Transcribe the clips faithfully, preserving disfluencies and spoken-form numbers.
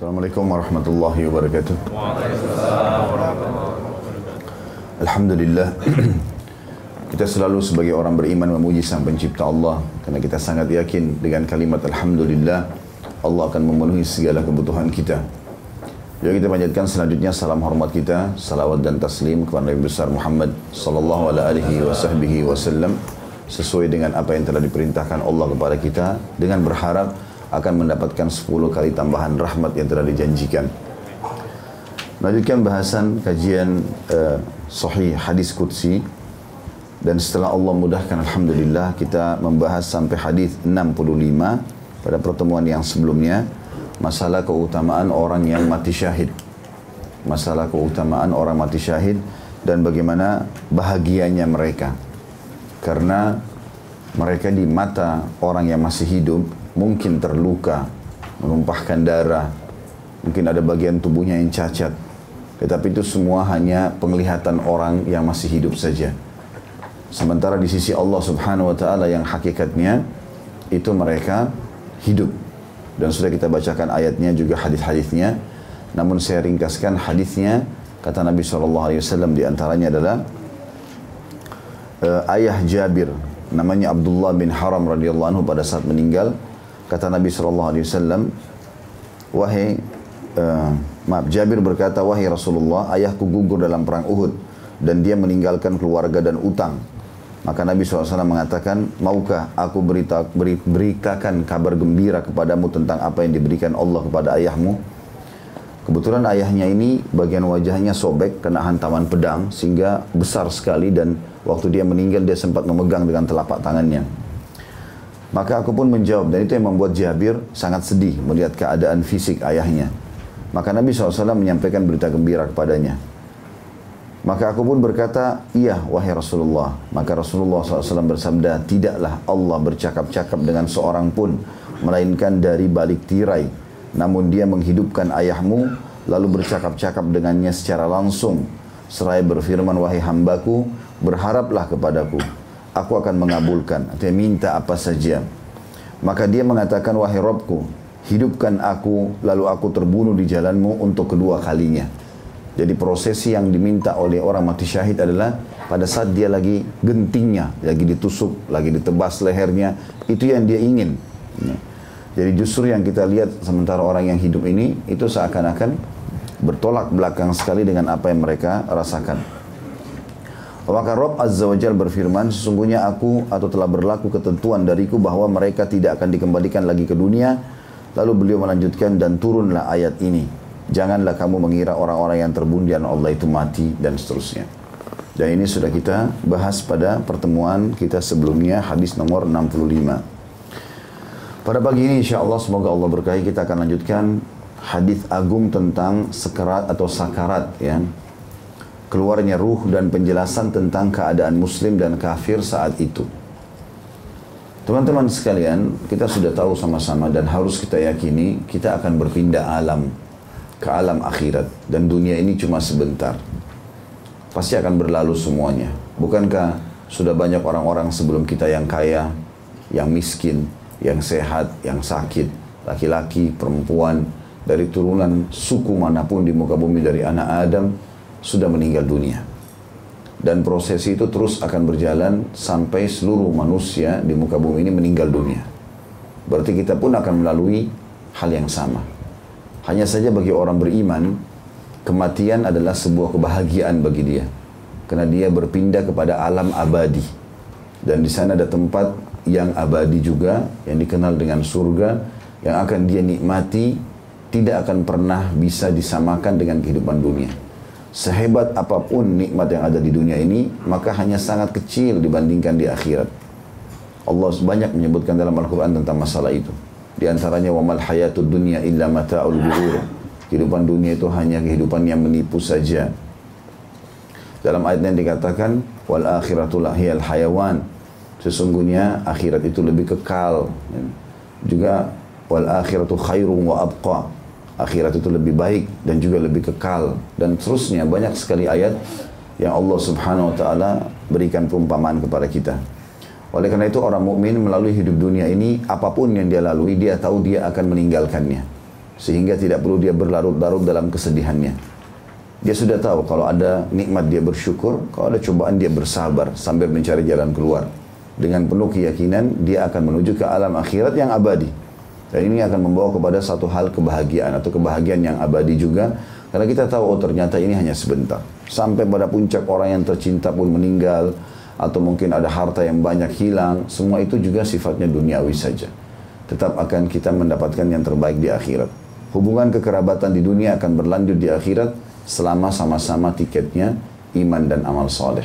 Assalamualaikum warahmatullahi wabarakatuh. Waalaikumsalam warahmatullahi wabarakatuh. Alhamdulillah, kita selalu sebagai orang beriman memuji Sang Pencipta Allah, karena kita sangat yakin dengan kalimat Alhamdulillah Allah akan memenuhi segala kebutuhan kita. Jadi kita panjatkan selanjutnya salam hormat kita, salawat dan taslim kepada Nabi besar Muhammad sallallahu alaihi wasallam sesuai dengan apa yang telah diperintahkan Allah kepada kita, dengan berharap akan mendapatkan sepuluh kali tambahan rahmat yang telah dijanjikan. Melanjutkan bahasan kajian uh, Sahih Hadis Qudsi, dan setelah Allah mudahkan Alhamdulillah kita membahas sampai hadis enam puluh lima pada pertemuan yang sebelumnya, masalah keutamaan orang yang mati syahid. Masalah keutamaan orang mati syahid dan bagaimana bahagianya mereka. Karena mereka di mata orang yang masih hidup mungkin terluka, menumpahkan darah, mungkin ada bagian tubuhnya yang cacat. Tetapi itu semua hanya penglihatan orang yang masih hidup saja. Sementara di sisi Allah Subhanahu wa Ta'ala yang hakikatnya itu mereka hidup. Dan sudah kita bacakan ayatnya juga hadis-hadisnya. Namun saya ringkaskan hadisnya, kata Nabi shallallahu alaihi wasallam di antaranya adalah uh, ayah Jabir, namanya Abdullah bin Haram radhiyallahu anhu, pada saat meninggal, kata Nabi shallallahu alaihi wasallam, wahai uh, maaf Jabir berkata, wahai Rasulullah, ayahku gugur dalam perang Uhud dan dia meninggalkan keluarga dan utang. Maka Nabi shallallahu alaihi wasallam mengatakan, maukah aku berita, beri, beritakan kabar gembira kepadamu tentang apa yang diberikan Allah kepada ayahmu? Kebetulan ayahnya ini bagian wajahnya sobek kena hantaman pedang sehingga besar sekali, dan waktu dia meninggal dia sempat memegang dengan telapak tangannya. Maka aku pun menjawab, dan itu yang membuat Jabir sangat sedih melihat keadaan fisik ayahnya. Maka Nabi shallallahu alaihi wasallam menyampaikan berita gembira kepadanya. Maka aku pun berkata, iya wahai Rasulullah. Maka Rasulullah shallallahu alaihi wasallam bersabda, tidaklah Allah bercakap-cakap dengan seorang pun, melainkan dari balik tirai. Namun dia menghidupkan ayahmu, lalu bercakap-cakap dengannya secara langsung. Seraya berfirman, wahai hambaku, berharaplah kepadaku, aku akan mengabulkan, artinya minta apa saja. Maka dia mengatakan, wahai Rabbku, hidupkan aku, lalu aku terbunuh di jalanmu untuk kedua kalinya. Jadi prosesi yang diminta oleh orang mati syahid adalah pada saat dia lagi gentingnya, lagi ditusuk, lagi ditebas lehernya, itu yang dia ingin. Jadi justru yang kita lihat sementara orang yang hidup ini, itu seakan-akan bertolak belakang sekali dengan apa yang mereka rasakan. Maka Rabb Azza wa Jalla berfirman, sesungguhnya aku atau telah berlaku ketentuan dariku bahwa mereka tidak akan dikembalikan lagi ke dunia. Lalu beliau melanjutkan, dan turunlah ayat ini, janganlah kamu mengira orang-orang yang terbunuh di jalan Allah itu mati, dan seterusnya. Dan ini sudah kita bahas pada pertemuan kita sebelumnya, hadis nomor enam puluh lima. Pada pagi ini insya Allah, semoga Allah berkahi, kita akan lanjutkan hadis agung tentang sekarat atau sakarat, ya, keluarnya ruh dan penjelasan tentang keadaan muslim dan kafir saat itu. Teman-teman sekalian, kita sudah tahu sama-sama dan harus kita yakini, kita akan berpindah alam ke alam akhirat, dan dunia ini cuma sebentar. Pasti akan berlalu semuanya. Bukankah sudah banyak orang-orang sebelum kita yang kaya, yang miskin, yang sehat, yang sakit, laki-laki, perempuan, dari turunan suku manapun di muka bumi dari anak Adam, sudah meninggal dunia. Dan prosesi itu terus akan berjalan sampai seluruh manusia di muka bumi ini meninggal dunia. Berarti kita pun akan melalui hal yang sama. Hanya saja bagi orang beriman, kematian adalah sebuah kebahagiaan bagi dia. Karena dia berpindah kepada alam abadi. Dan di sana ada tempat yang abadi juga, yang dikenal dengan surga, yang akan dia nikmati, tidak akan pernah bisa disamakan dengan kehidupan dunia. Sehebat apapun nikmat yang ada di dunia ini, maka hanya sangat kecil dibandingkan di akhirat. Allah banyak menyebutkan dalam Al-Quran tentang masalah itu. Di antaranya, وَمَا الْحَيَاةُ الدُّنْيَا إِلَّا مَتَاعُ الْغُرُورِ. Kehidupan dunia itu hanya kehidupan yang menipu saja. Dalam ayat yang dikatakan, وَالْآخِرَةُ لَهِيَ الْحَيَوَانِ. Sesungguhnya akhirat itu lebih kekal. Juga, وَالْآخِرَةُ خَيْرٌ وَأَبْقَى. Akhirat itu lebih baik dan juga lebih kekal, dan seterusnya. Banyak sekali ayat yang Allah Subhanahu wa Ta'ala berikan perumpamaan kepada kita. Oleh karena itu orang mukmin melalui hidup dunia ini, apapun yang dia lalui, dia tahu dia akan meninggalkannya. sehingga tidak perlu dia berlarut-larut dalam kesedihannya. Dia sudah tahu kalau ada nikmat dia bersyukur, kalau ada cobaan dia bersabar sambil mencari jalan keluar. Dengan penuh keyakinan dia akan menuju ke alam akhirat yang abadi. Dan ini akan membawa kepada satu hal kebahagiaan atau kebahagiaan yang abadi juga. Karena kita tahu oh ternyata ini hanya sebentar. Sampai pada puncak orang yang tercinta pun meninggal. Atau mungkin ada harta yang banyak hilang. Semua itu juga sifatnya duniawi saja. Tetap akan kita mendapatkan yang terbaik di akhirat. Hubungan kekerabatan di dunia akan berlanjut di akhirat selama sama-sama tiketnya iman dan amal soleh.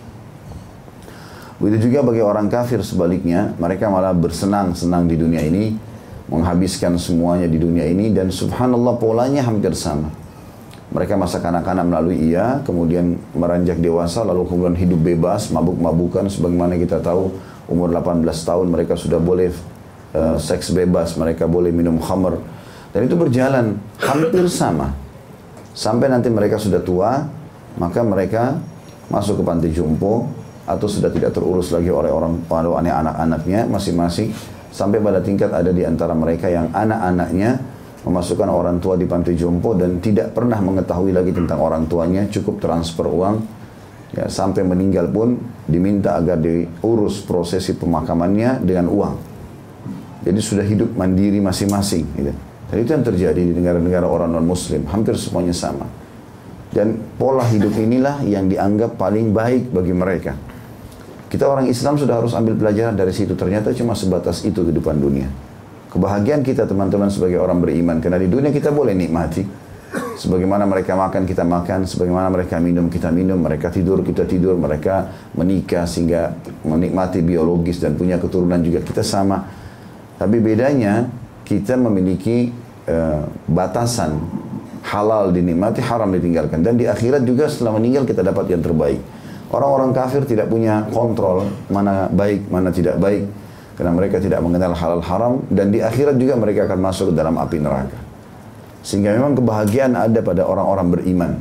Begitu juga bagi orang kafir sebaliknya, mereka malah bersenang-senang di dunia ini, menghabiskan semuanya di dunia ini, dan subhanallah polanya hampir sama. Mereka masa kanak-kanak melalui iya, kemudian meranjak dewasa, lalu kemudian hidup bebas, mabuk-mabukan, sebagaimana kita tahu umur delapan belas tahun mereka sudah boleh uh, seks bebas, mereka boleh minum khamr, dan itu berjalan hampir sama. Sampai nanti mereka sudah tua, maka mereka masuk ke panti jompo, atau sudah tidak terurus lagi oleh orang tua anak-anaknya masing-masing, sampai pada tingkat ada di antara mereka yang anak-anaknya memasukkan orang tua di panti jompo dan tidak pernah mengetahui lagi tentang orang tuanya, cukup transfer uang, ya, sampai meninggal pun diminta agar diurus prosesi pemakamannya dengan uang. Jadi sudah hidup mandiri masing-masing, gitu. Dan itu yang terjadi di negara-negara orang non-muslim, hampir semuanya sama. Dan pola hidup inilah yang dianggap paling baik bagi mereka. Kita orang Islam sudah harus ambil pelajaran dari situ. Ternyata cuma sebatas itu kehidupan dunia. Kebahagiaan kita teman-teman sebagai orang beriman. Karena di dunia kita boleh nikmati. Sebagaimana mereka makan, kita makan. Sebagaimana mereka minum, kita minum. Mereka tidur, kita tidur. Mereka menikah sehingga menikmati biologis dan punya keturunan juga. Kita sama. Tapi bedanya kita memiliki uh, batasan. Halal dinikmati, haram ditinggalkan. Dan di akhirat juga setelah meninggal kita dapat yang terbaik. Orang-orang kafir tidak punya kontrol mana baik, mana tidak baik. Karena mereka tidak mengenal halal haram. Dan di akhirat juga mereka akan masuk ke dalam api neraka. Sehingga memang kebahagiaan ada pada orang-orang beriman.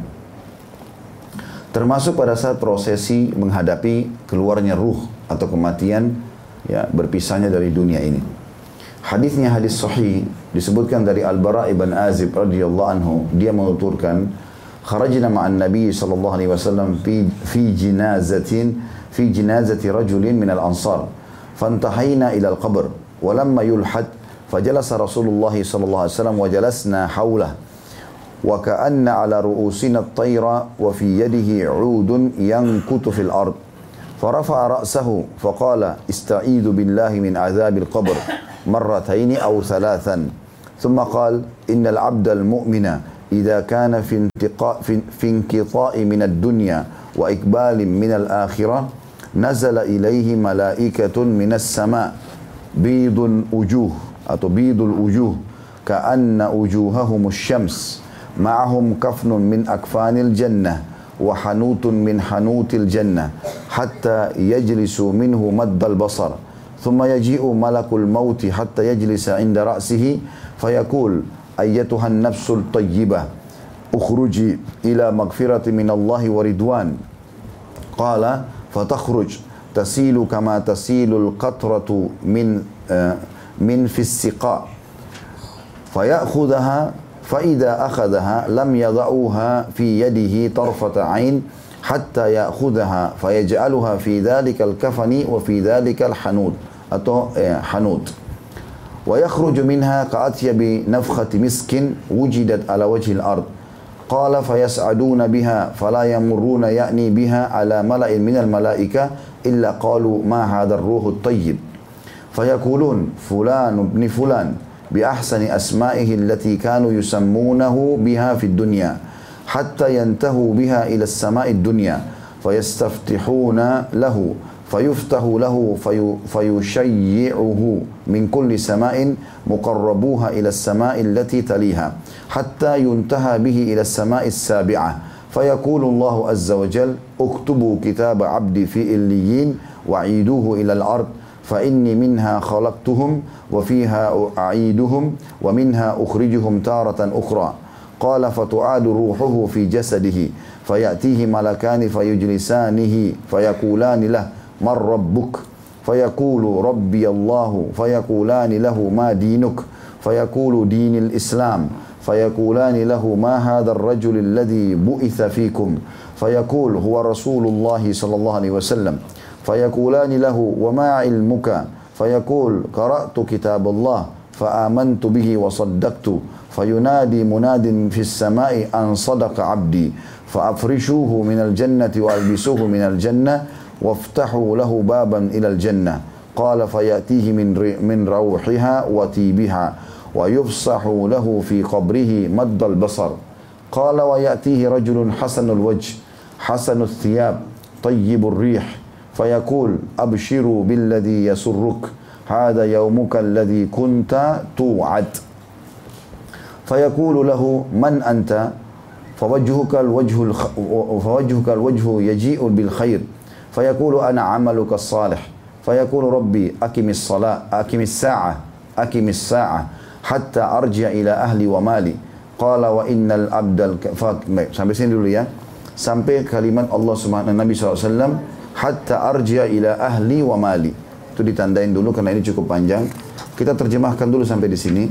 Termasuk pada saat prosesi menghadapi keluarnya ruh atau kematian, ya, berpisahnya dari dunia ini. Hadisnya hadis sahih disebutkan dari Al-Bara' ibn Azib radhiyallahu anhu, dia menuturkan, kharajna ma'an Nabi sallallahu alaihi wasallam fi fi jinazatin fi jinazati rajulin min al-ansar fantahayna ila al-qabr wa lamma yulhad fajalasa Rasulullah sallallahu alaihi wasallam wa jalasna hawlah wa ka'anna ala ru'usina at-tayra wa fi yadihi 'udun yankutu fil ard farafa'a ra'sahu faqala ista'idhu billahi min 'adzabil qabr مرتين أو ثلاثا ثم قال إن العبد المؤمن إذا كان في انتقاء في, في انقطاع من الدنيا وإقبال من الآخرة نزل إليه ملائكة من السماء بيض وجوه أو بيض الوجوه كأن وجوههم الشمس معهم كفن من أكفان الجنة وحنوت من حنوت الجنة حتى يجلس منه مد البصر ثم يجيء ملك الموت حتى يجلس عند رأسه فيقول أيتها النفس الطيبة اخرجي إلى مغفرة من الله ورضوان قال فتخرج تسيل كما تسيل القطرة من من في السقاء فيأخذها فإذا أخذها لم يضعوها في يده طرفة عين حتى يأخذها فيجعلها في ذلك الكفن وفي ذلك الحنوت atau eh, hanut wa yakhruju minha ka'atyab nafkhati miskin wujidat ala wajhil ard qala fayas'aduna biha fala yamurruna ya'ni biha ala mala'in minal malaika illa qalu ma hadha ar-ruhu at-tayyib fayaqulun fulan ibn fulan bi ahsani asma'ihi allati kanu yusammunahu biha fid dunya hatta yantahu biha ila as-sama'i ad-dunya fayastaftihuna lahu فيفتح له في فيشيعه من كل سماء مقربوها إلى السماء التي تليها حتى ينتهى به إلى السماء السابعة فيقول الله عز وجل اكتبوا كتاب عبدي في إليين وعيدوه إلى الأرض فإني منها خلقتهم وفيها أعيدهم ومنها أخرجهم تارة أخرى قال فتعاد روحه في جسده فيأتيه ملكان فيجلسانه فيقولان له من ربك فيقول ربي الله فيقولان له ما دينك فيقول دين الإسلام فيقولان له ما هذا الرجل الذي بعث فيكم فيقول هو رسول الله صلى الله عليه وسلم فيقولان له وما علمك فيقول قرأت كتاب الله فآمنت به وصدقت فينادي مناد في السماء أن صدق عبدي فأفرشوه من الجنة وألبسوه من الجنة وافتحوا له بابا إلى الجنة قال فيأتيه من من روحها وطيبها ويفسح له في قبره مد البصر قال ويأتيه رجل حسن الوجه حسن الثياب طيب الريح فيقول أبشروا بالذي يسرك هذا يومك الذي كنت توعد فيقول له من أنت فوجهك الوجه الخ... فوجهك الوجه يجيء بالخير فيقول أنا عملك الصالح فيقول ربي أقم الصلاة أقم الساعة أقم الساعة حتى أرجع إلى أهلي ومالي قال وإن العبد الك... sampai sini dulu ya, sampai kalimat Allah Subhanahu Nabi shallallahu alaihi wasallam hatta arji'a ila ahli wa mali. Itu ditandain dulu karena ini cukup panjang. Kita terjemahkan dulu sampai di sini.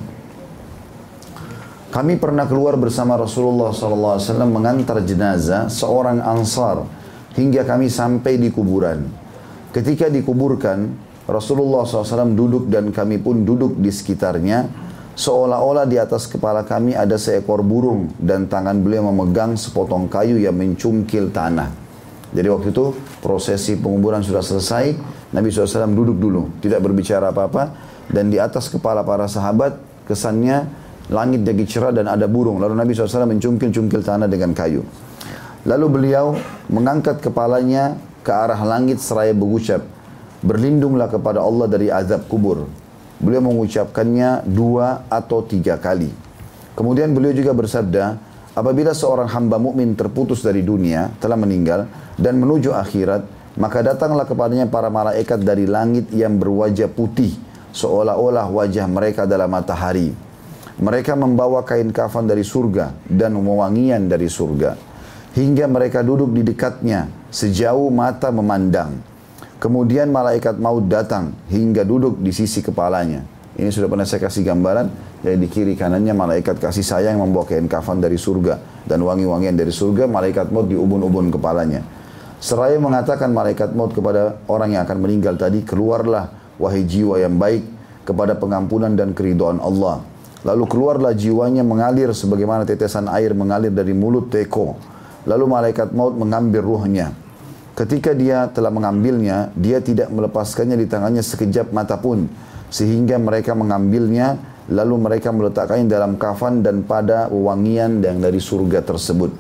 Kami pernah keluar bersama Rasulullah shallallahu alaihi wasallam mengantar jenazah seorang Ansar hingga kami sampai di kuburan. Ketika dikuburkan, Rasulullah shallallahu alaihi wasallam duduk dan kami pun duduk di sekitarnya. Seolah-olah di atas kepala kami ada seekor burung dan tangan beliau memegang sepotong kayu yang mencungkil tanah. Jadi waktu itu prosesi penguburan sudah selesai, Nabi shallallahu alaihi wasallam duduk dulu, tidak berbicara apa-apa, dan di atas kepala para sahabat kesannya langit jadi cerah dan ada burung. Lalu Nabi shallallahu alaihi wasallam mencungkil-cungkil tanah dengan kayu. Lalu beliau mengangkat kepalanya ke arah langit seraya berucap, berlindunglah kepada Allah dari azab kubur. Beliau mengucapkannya dua atau tiga kali. Kemudian beliau juga bersabda, apabila seorang hamba mukmin terputus dari dunia, telah meninggal, dan menuju akhirat, maka datanglah kepadanya para malaikat dari langit yang berwajah putih, seolah-olah wajah mereka adalah matahari. Mereka membawa kain kafan dari surga dan wewangian dari surga. Hingga mereka duduk di dekatnya, sejauh mata memandang. Kemudian malaikat maut datang hingga duduk di sisi kepalanya. Ini sudah pernah saya kasih gambaran. Jadi di kiri kanannya malaikat kasih sayang membawa kain kafan dari surga dan wangi-wangian dari surga. Malaikat maut di ubun-ubun kepalanya. Seraya mengatakan malaikat maut kepada orang yang akan meninggal tadi, keluarlah wahai jiwa yang baik kepada pengampunan dan keridhaan Allah. Lalu keluarlah jiwanya mengalir sebagaimana tetesan air mengalir dari mulut teko. Lalu malaikat maut mengambil ruhnya. Ketika dia telah mengambilnya, dia tidak melepaskannya di tangannya sekejap mata pun. Sehingga mereka mengambilnya, lalu mereka meletakkannya dalam kafan dan pada wewangian yang dari surga tersebut.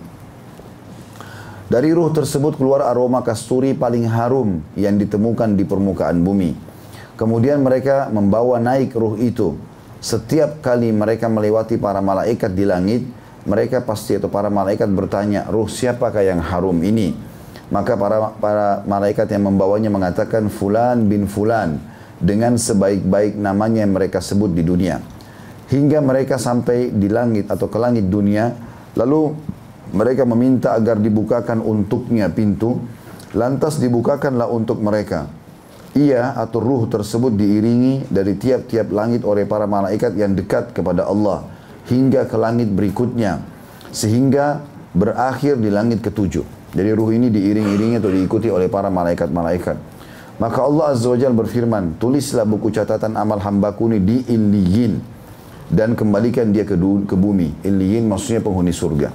Dari ruh tersebut keluar aroma kasturi paling harum yang ditemukan di permukaan bumi. Kemudian mereka membawa naik ruh itu. Setiap kali mereka melewati para malaikat di langit, mereka pasti atau para malaikat bertanya, ruh siapakah yang harum ini? Maka para para malaikat yang membawanya mengatakan fulan bin fulan dengan sebaik-baik namanya yang mereka sebut di dunia. Hingga mereka sampai di langit atau ke langit dunia, lalu mereka meminta agar dibukakan untuknya pintu, lantas dibukakanlah untuk mereka. Ia atau ruh tersebut diiringi dari tiap-tiap langit oleh para malaikat yang dekat kepada Allah hingga ke langit berikutnya, sehingga berakhir di langit ketujuh. Jadi ruh ini diiring-iringi atau diikuti oleh para malaikat-malaikat. Maka Allah Azza wa Jalla berfirman, tulislah buku catatan amal hambaku ini di Illiyin dan kembalikan dia ke, ke bumi. Illiyin maksudnya penghuni surga.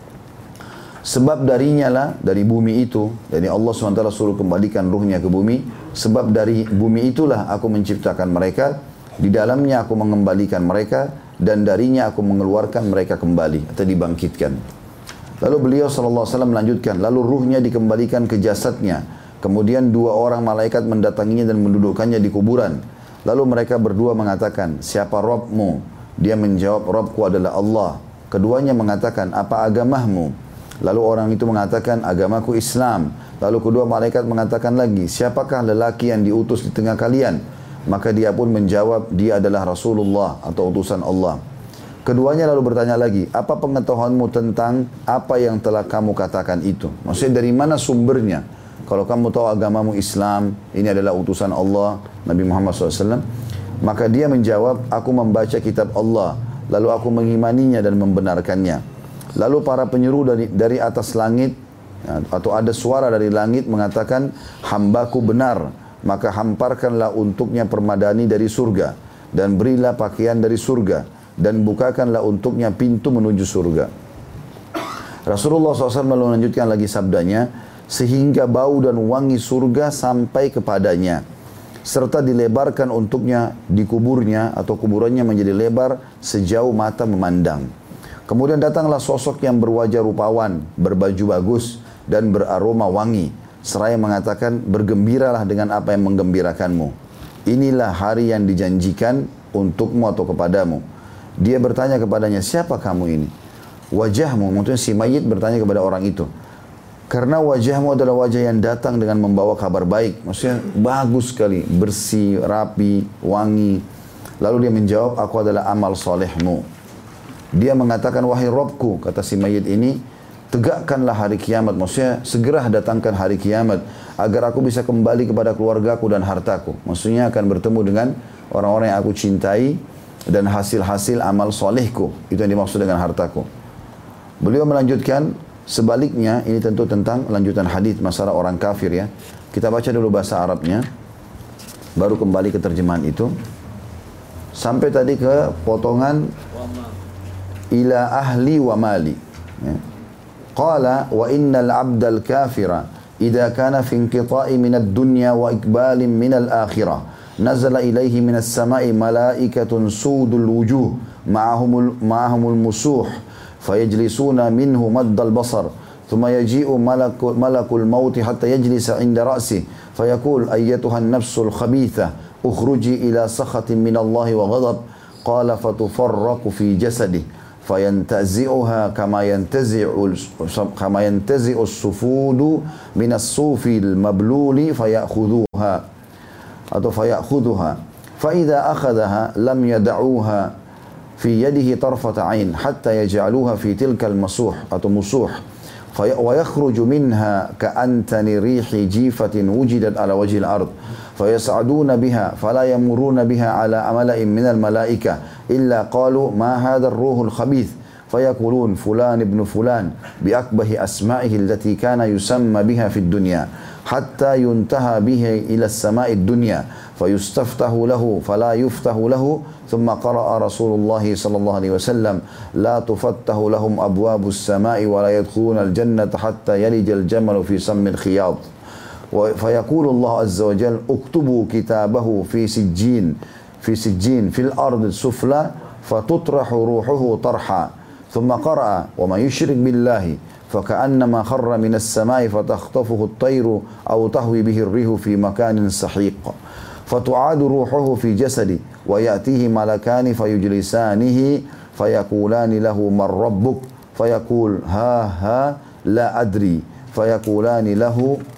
Sebab darinya lah, dari bumi itu, jadi Allah subhanahu wa taala suruh kembalikan ruhnya ke bumi. Sebab dari bumi itulah aku menciptakan mereka, di dalamnya aku mengembalikan mereka, dan darinya aku mengeluarkan mereka kembali atau dibangkitkan. Lalu beliau sallallahu alaihi wasallam melanjutkan, lalu ruhnya dikembalikan ke jasadnya. Kemudian dua orang malaikat mendatanginya dan mendudukkannya di kuburan. Lalu mereka berdua mengatakan, siapa Rabbmu? Dia menjawab, Rabbku adalah Allah. Keduanya mengatakan, apa agamamu? Lalu orang itu mengatakan, agamaku Islam. Lalu kedua malaikat mengatakan lagi, siapakah lelaki yang diutus di tengah kalian? Maka dia pun menjawab, dia adalah Rasulullah atau utusan Allah. Keduanya lalu bertanya lagi, apa pengetahuanmu tentang apa yang telah kamu katakan itu? Maksudnya dari mana sumbernya? Kalau kamu tahu agamamu Islam, ini adalah utusan Allah, Nabi Muhammad shallallahu alaihi wasallam. Maka dia menjawab, aku membaca kitab Allah, lalu aku mengimaninya dan membenarkannya. Lalu para penyeru dari, dari atas langit, atau ada suara dari langit mengatakan, hambaku benar, maka hamparkanlah untuknya permadani dari surga, dan berilah pakaian dari surga, dan bukakanlah untuknya pintu menuju surga. Rasulullah shallallahu alaihi wasallam lalu melanjutkan lagi sabdanya, sehingga bau dan wangi surga sampai kepadanya, serta dilebarkan untuknya di kuburnya atau kuburannya menjadi lebar sejauh mata memandang. Kemudian datanglah sosok yang berwajah rupawan, berbaju bagus dan beraroma wangi, seraya mengatakan, bergembiralah dengan apa yang menggembirakanmu. Inilah hari yang dijanjikan untukmu atau kepadamu. Dia bertanya kepadanya, siapa kamu ini? Wajahmu, maksudnya si mayit bertanya kepada orang itu, karena wajahmu adalah wajah yang datang dengan membawa kabar baik. Maksudnya bagus sekali, bersih, rapi, wangi. Lalu dia menjawab, aku adalah amal solehmu. Dia mengatakan, wahai Robku, kata si mayit ini, tegakkanlah hari kiamat. Maksudnya segera datangkan hari kiamat, agar aku bisa kembali kepada keluargaku dan hartaku. Maksudnya akan bertemu dengan orang-orang yang aku cintai dan hasil-hasil amal solehku. Itu yang dimaksud dengan hartaku. Beliau melanjutkan, sebaliknya, ini tentu tentang lanjutan hadis masalah orang kafir ya. Kita baca dulu bahasa Arabnya, baru kembali ke terjemahan itu. Sampai tadi ke potongan ila ahli wa mali. Ya. Qala wa innal abdal kafira idza kana fi inqita'i min ad-dunya wa ikbalin min al-akhirah nazala ilayhi min as-sama'i malaikatun sudul wujuh ma'ahumul ma'ahumul musuh فيجلسون منه مد البصر ثم يجيء ملك, ملك الموت حتى يجلس عند رأسه فيقول أيتها النفس الخبيثة اخرجي إلى سخط من الله وغضب قال فتفرق في جسده فينتزعها كما ينتزع كما ينتزع السفود من الصوف المبلول فيأخذوها atau فيأخذها فإذا أخذها لم يدعوها في يده طرفة عين حتى يجعلوها في تلك المسوح atau musuh ويخرج منها كأنتن ريح جيفة وجدت على وجه الأرض فيصعدون بها فلا يمرون بها على ملأ من الملائكة إلا قالوا ما هذا الروح الخبيث فيقولون فلان ابن فلان بأكبه أسمائه التي كان يسمى بها في الدنيا حتى ينتهى به إلى السماء الدنيا فيستفتح له فلا يفتح له ثم قرأ رسول الله صلى الله عليه وسلم لا تفتح لهم أبواب السماء ولا يدخلون الجنة حتى يلج الجمل في سم الخياط فيقول الله عز وجل اكتبوا كتابه في سجين في سجين في الأرض السفلى فتطرح روحه طرحا ثم قرأ وما يشرك بالله فكأنما خر من السماء فتخطفه الطير أو تهوي به الريح في مكان سحيق فتعاد روحه في جسده ويأتيه ملكان فيجلسانه فيقولان له من ربك فيقول ها ها لا أدري فيقولان له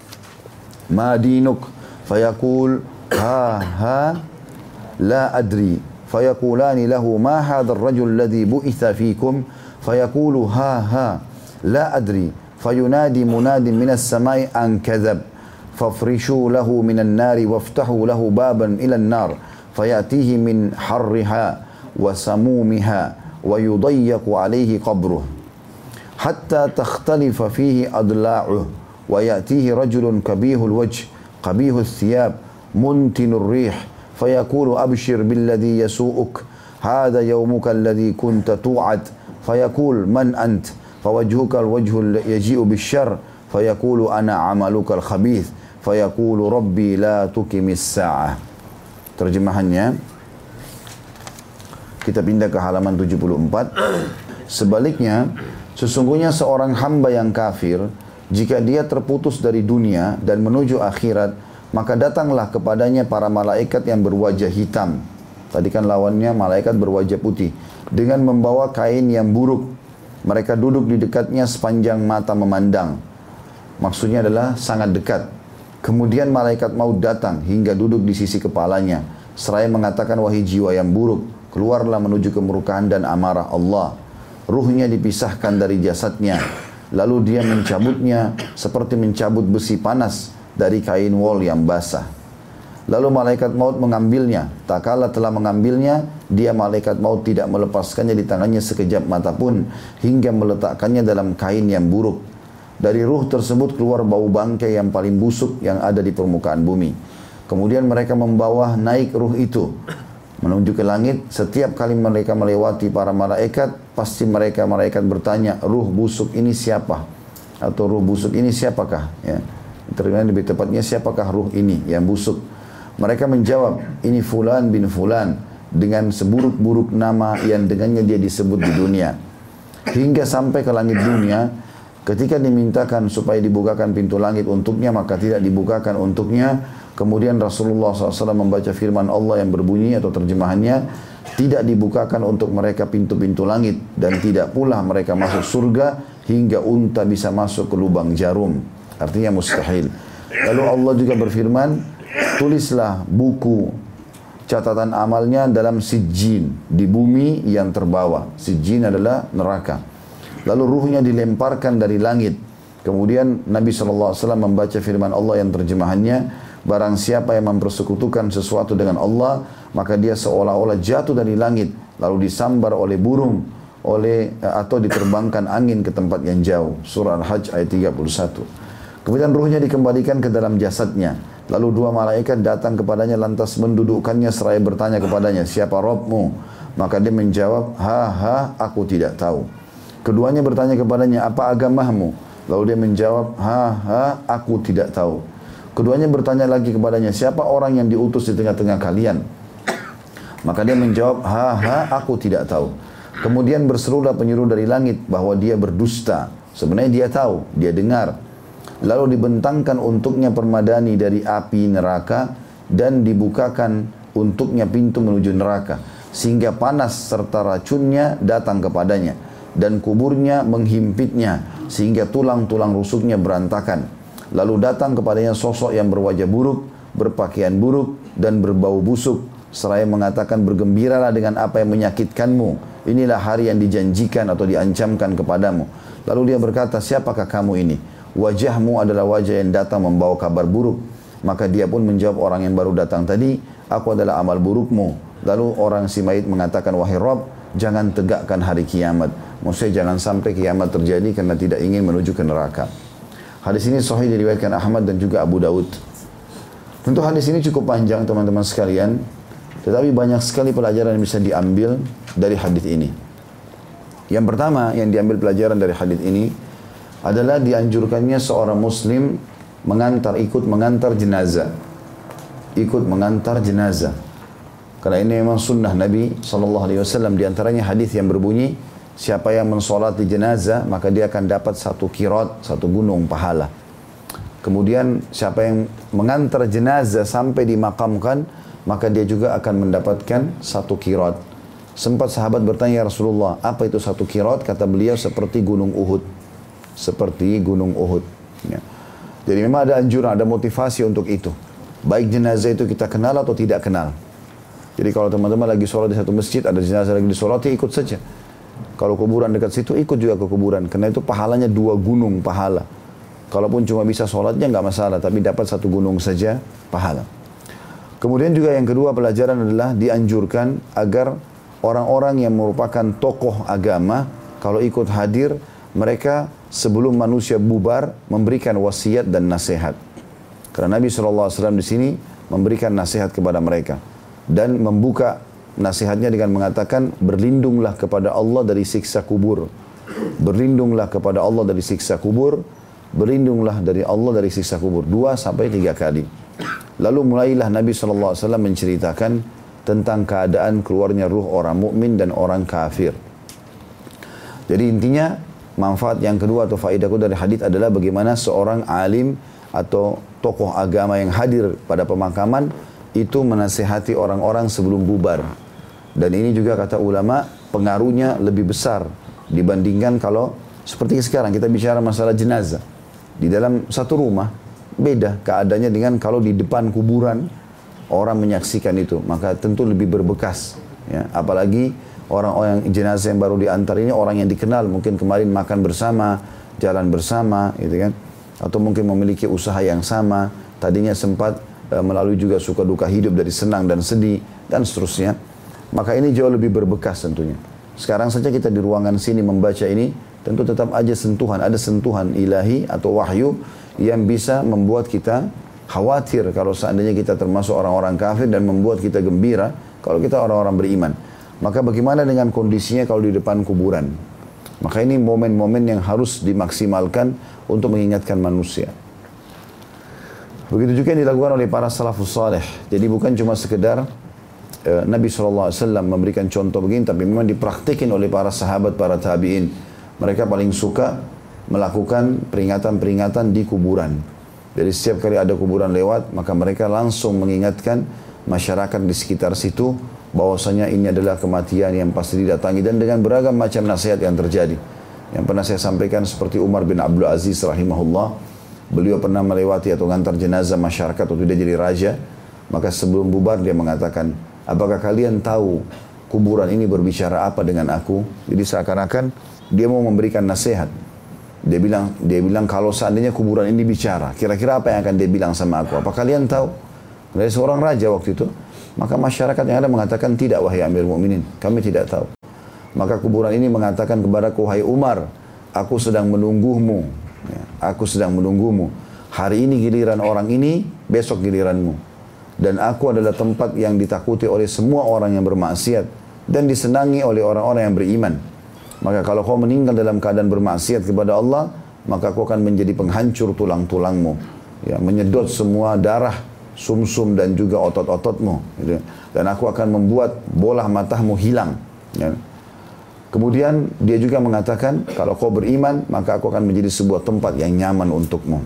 ما دينك فيقول ها ها لا أدري فيقولان له ما هذا الرجل الذي بعث فيكم فيقول ها ها لا أدري فينادي مناد من السماء أن كذب فافرشوا له من النار وافتحوا له بابا إلى النار فيأتيه من حرها وسمومها ويضيق عليه قبره حتى تختلف فيه أضلاعه ويأتيه رجل كبيه الوجه قبيه الثياب منتن الريح فيقول أبشر بالذي يسوءك هذا يومك الذي كنت توعد فيقول من أنت فوجهك الوجه يجيء بالشر فيقول أنا عملك الخبيث فيقول ربي لا تقم الساعة. Terjemahannya, kita pindah ke halaman tujuh puluh empat. Sebaliknya, sesungguhnya seorang hamba yang kafir, jika dia terputus dari dunia dan menuju akhirat, maka datanglah kepadanya para malaikat yang berwajah hitam. Tadi kan lawannya malaikat berwajah putih, dengan membawa kain yang buruk. Mereka duduk di dekatnya sepanjang mata memandang. Maksudnya adalah sangat dekat. Kemudian malaikat maut datang hingga duduk di sisi kepalanya, seraya mengatakan, wahai jiwa yang buruk, keluarlah menuju kemurkaan dan amarah Allah. Ruhnya dipisahkan dari jasadnya, lalu dia mencabutnya seperti mencabut besi panas dari kain wol yang basah. Lalu malaikat maut mengambilnya. Tak kala telah mengambilnya, dia malaikat maut tidak melepaskannya di tangannya sekejap mata pun, hingga meletakkannya dalam kain yang buruk. Dari ruh tersebut keluar bau bangkai yang paling busuk yang ada di permukaan bumi. Kemudian mereka membawa naik ruh itu menuju ke langit. Setiap kali mereka melewati para malaikat, pasti mereka malaikat bertanya, ruh busuk ini siapa? Atau ruh busuk ini siapakah? Ya. Terjemahan lebih tepatnya, siapakah ruh ini yang busuk? Mereka menjawab, ini fulan bin fulan, dengan seburuk-buruk nama yang dengannya dia disebut di dunia. Hingga sampai ke langit dunia, ketika dimintakan supaya dibukakan pintu langit untuknya, maka tidak dibukakan untuknya. Kemudian Rasulullah shallallahu alaihi wasallam membaca firman Allah yang berbunyi atau terjemahannya, tidak dibukakan untuk mereka pintu-pintu langit, dan tidak pula mereka masuk surga hingga unta bisa masuk ke lubang jarum. Artinya mustahil. Lalu Allah juga berfirman, tulislah buku catatan amalnya dalam sijjin, di bumi yang terbawa. Sijjin adalah neraka. Lalu ruhnya dilemparkan dari langit. Kemudian Nabi shallallahu alaihi wasallam membaca firman Allah yang terjemahannya, barang siapa yang mempersekutukan sesuatu dengan Allah, maka dia seolah-olah jatuh dari langit, lalu disambar oleh burung, oleh atau diterbangkan angin ke tempat yang jauh. Surah Al-Hajj ayat tiga puluh satu. Kemudian ruhnya dikembalikan ke dalam jasadnya. Lalu dua malaikat datang kepadanya lantas mendudukkannya seraya bertanya kepadanya, siapa Rabbmu? Maka dia menjawab, ha ha, aku tidak tahu. Keduanya bertanya kepadanya, apa agamamu? Lalu dia menjawab, ha ha, aku tidak tahu. Keduanya bertanya lagi kepadanya, siapa orang yang diutus di tengah-tengah kalian? Maka dia menjawab, ha ha, aku tidak tahu. Kemudian berserulah penyeru dari langit bahwa dia berdusta. Sebenarnya dia tahu, dia dengar. Lalu dibentangkan untuknya permadani dari api neraka dan dibukakan untuknya pintu menuju neraka, sehingga panas serta racunnya datang kepadanya, dan kuburnya menghimpitnya sehingga tulang-tulang rusuknya berantakan. Lalu datang kepadanya sosok yang berwajah buruk, berpakaian buruk, dan berbau busuk, seraya mengatakan, bergembiralah dengan apa yang menyakitkanmu. Inilah hari yang dijanjikan atau diancamkan kepadamu. Lalu dia berkata, siapakah kamu ini? Wajahmu adalah wajah yang datang membawa kabar buruk. Maka dia pun menjawab orang yang baru datang tadi, aku adalah amal burukmu. Lalu orang si mayit mengatakan, wahai Rabb, jangan tegakkan hari kiamat. Maksudnya jangan sampai kiamat terjadi karena tidak ingin menuju ke neraka. Hadis ini sahih diriwayatkan Ahmad dan juga Abu Daud. Tentu hadis ini cukup panjang teman-teman sekalian, tetapi banyak sekali pelajaran yang bisa diambil dari hadis ini. Yang pertama yang diambil pelajaran dari hadis ini adalah dianjurkannya seorang muslim mengantar, ikut mengantar jenazah. Ikut mengantar jenazah. Karena ini memang sunnah Nabi shallallahu alaihi wasallam. Di antaranya hadis yang berbunyi, siapa yang mensolati jenazah, maka dia akan dapat satu kirat, satu gunung pahala. Kemudian siapa yang mengantar jenazah sampai dimakamkan, maka dia juga akan mendapatkan satu kirat. Sempat sahabat bertanya, ya Rasulullah, apa itu satu kirat? Kata beliau, seperti gunung Uhud. Seperti gunung Uhud. Ya. Jadi memang ada anjuran, ada motivasi untuk itu. Baik jenazah itu kita kenal atau tidak kenal. Jadi kalau teman-teman lagi sholat di satu masjid, ada jenazah lagi disolati, ikut saja. Kalau kuburan dekat situ, ikut juga ke kuburan. Karena itu pahalanya dua gunung pahala. Kalaupun cuma bisa sholatnya nggak masalah, tapi dapat satu gunung saja pahala. Kemudian juga yang kedua pelajaran adalah dianjurkan agar orang-orang yang merupakan tokoh agama, kalau ikut hadir, mereka sebelum manusia bubar memberikan wasiat dan nasihat. Karena Nabi shallallahu alaihi wasallam di sini memberikan nasihat kepada mereka dan membuka nasihatnya dengan mengatakan, berlindunglah kepada Allah dari siksa kubur. Berlindunglah kepada Allah dari siksa kubur. Berlindunglah dari Allah dari siksa kubur. Dua sampai tiga kali. Lalu mulailah Nabi shallallahu alaihi wasallam menceritakan tentang keadaan keluarnya ruh orang mukmin dan orang kafir. Jadi intinya, manfaat yang kedua atau faedahku dari hadis adalah bagaimana seorang alim atau tokoh agama yang hadir pada pemakaman itu menasihati orang-orang sebelum bubar. Dan ini juga kata ulama pengaruhnya lebih besar dibandingkan kalau seperti sekarang kita bicara masalah jenazah. Di dalam satu rumah beda keadaannya dengan kalau di depan kuburan orang menyaksikan itu, maka tentu lebih berbekas. Ya, apalagi orang-orang jenazah yang baru diantar ini orang yang dikenal, mungkin kemarin makan bersama, jalan bersama, gitu kan? Atau mungkin memiliki usaha yang sama, tadinya sempat melalui juga suka duka hidup dari senang dan sedih dan seterusnya. Maka ini jauh lebih berbekas tentunya. Sekarang saja kita di ruangan sini membaca ini, tentu tetap aja sentuhan, ada sentuhan ilahi atau wahyu yang bisa membuat kita khawatir kalau seandainya kita termasuk orang-orang kafir dan membuat kita gembira kalau kita orang-orang beriman. Maka bagaimana dengan kondisinya kalau di depan kuburan? Maka ini momen-momen yang harus dimaksimalkan untuk mengingatkan manusia. Begitu juga yang dilakukan oleh para salafus saleh. Jadi bukan cuma sekedar uh, Nabi shallallahu alaihi wasallam memberikan contoh begini, tapi memang dipraktikin oleh para sahabat, para tabi'in. Mereka paling suka melakukan peringatan-peringatan di kuburan. Jadi setiap kali ada kuburan lewat, maka mereka langsung mengingatkan masyarakat di sekitar situ bahwasanya ini adalah kematian yang pasti didatangi, dan dengan beragam macam nasihat yang terjadi. Yang pernah saya sampaikan seperti Umar bin Abdul Aziz rahimahullah. Beliau pernah melewati atau ngantar jenazah masyarakat waktu dia jadi raja. Maka sebelum bubar dia mengatakan, apakah kalian tahu kuburan ini berbicara apa dengan aku? Jadi seakan-akan dia mau memberikan nasihat. Dia bilang, dia bilang kalau seandainya kuburan ini bicara, kira-kira apa yang akan dia bilang sama aku? Apa kalian tahu? Dari seorang raja waktu itu. Maka masyarakat yang ada mengatakan, tidak wahai Amir Mu'minin, kami tidak tahu. Maka kuburan ini mengatakan kepadaku, wahai Umar, aku sedang menunggumu. Ya, aku sedang menunggumu. Hari ini giliran orang ini, besok giliranmu. Dan aku adalah tempat yang ditakuti oleh semua orang yang bermaksiat dan disenangi oleh orang-orang yang beriman. Maka kalau kau meninggal dalam keadaan bermaksiat kepada Allah, maka kau akan menjadi penghancur tulang-tulangmu, ya, menyedot semua darah, sumsum dan juga otot-ototmu. Gitu. Dan aku akan membuat bola matamu hilang. Ya. Kemudian dia juga mengatakan, kalau kau beriman, maka aku akan menjadi sebuah tempat yang nyaman untukmu.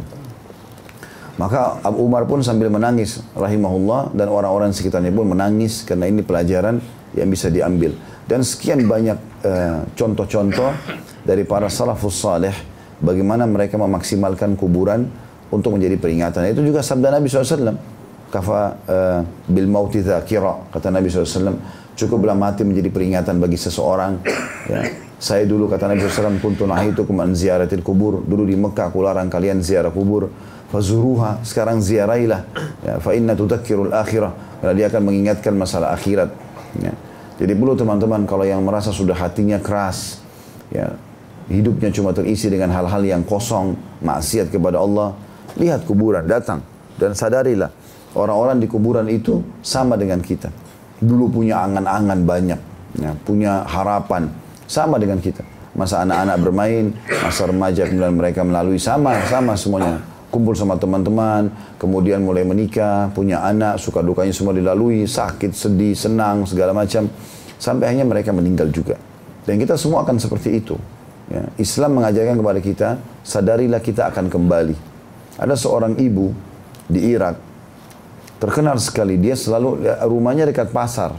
Maka Abu Umar pun sambil menangis, rahimahullah, dan orang-orang sekitarnya pun menangis, karena ini pelajaran yang bisa diambil. Dan sekian banyak uh, contoh-contoh dari para salafus saleh, bagaimana mereka memaksimalkan kuburan untuk menjadi peringatan. Itu juga sabda Nabi shallallahu alaihi wasallam, kafa uh, bil mauti dzakira, kata Nabi shallallahu alaihi wasallam, cukuplah mati menjadi peringatan bagi seseorang. Ya. Saya dulu, kata Nabi shallallahu alaihi wasallam, kuntu nahitukum an ziyaratil kubur. Dulu di Mekah aku larang kalian ziarah kubur. Fazuruha, sekarang ziarailah. Ya, fa inna tudakkirul akhirah, karena dia akan mengingatkan masalah akhirat. Ya. Jadi perlu teman-teman, kalau yang merasa sudah hatinya keras, ya, hidupnya cuma terisi dengan hal-hal yang kosong, maksiat kepada Allah, lihat kuburan, datang. Dan sadarilah, orang-orang di kuburan itu sama dengan kita. Dulu punya angan-angan banyak, ya, punya harapan, sama dengan kita. Masa anak-anak bermain, masa remaja kemudian mereka melalui, sama-sama semuanya. Kumpul sama teman-teman, kemudian mulai menikah, punya anak, suka dukanya semua dilalui, sakit, sedih, senang, segala macam. Sampai akhirnya mereka meninggal juga. Dan kita semua akan seperti itu. Ya. Islam mengajarkan kepada kita, sadarilah kita akan kembali. Ada seorang ibu di Irak, terkenal sekali, dia selalu, rumahnya dekat pasar.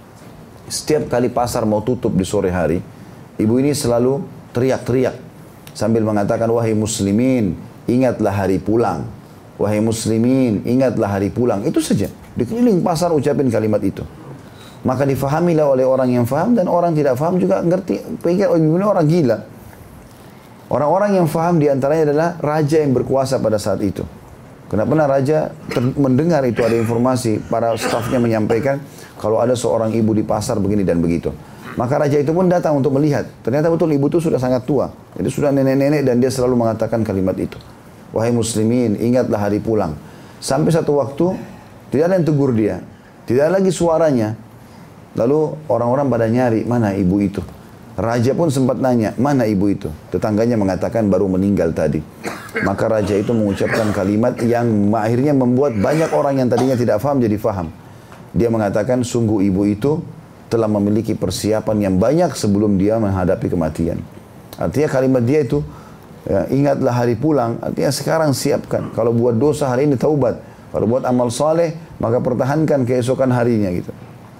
Setiap kali pasar mau tutup di sore hari, ibu ini selalu teriak-teriak sambil mengatakan, wahai muslimin, ingatlah hari pulang. Wahai muslimin, ingatlah hari pulang. Itu saja. Di keliling pasar ucapin kalimat itu. Maka difahamilah oleh orang yang faham, dan orang tidak faham juga ngerti, pikir, oh ini orang gila. Orang-orang yang faham diantaranya adalah raja yang berkuasa pada saat itu. Kenapa pernah raja mendengar itu ada informasi, para stafnya menyampaikan kalau ada seorang ibu di pasar begini dan begitu. Maka raja itu pun datang untuk melihat. Ternyata betul ibu itu sudah sangat tua. Jadi sudah nenek-nenek, dan dia selalu mengatakan kalimat itu. Wahai muslimin, ingatlah hari pulang. Sampai satu waktu, tidak ada yang tegur dia. Tidak ada lagi suaranya. Lalu orang-orang pada nyari, mana ibu itu? Raja pun sempat nanya, mana ibu itu? Tetangganya mengatakan baru meninggal tadi. Maka raja itu mengucapkan kalimat yang akhirnya membuat banyak orang yang tadinya tidak faham jadi faham. Dia mengatakan, sungguh ibu itu telah memiliki persiapan yang banyak sebelum dia menghadapi kematian. Artinya kalimat dia itu, ya, ingatlah hari pulang, artinya sekarang siapkan. Kalau buat dosa hari ini taubat, kalau buat amal saleh maka pertahankan keesokan harinya gitu.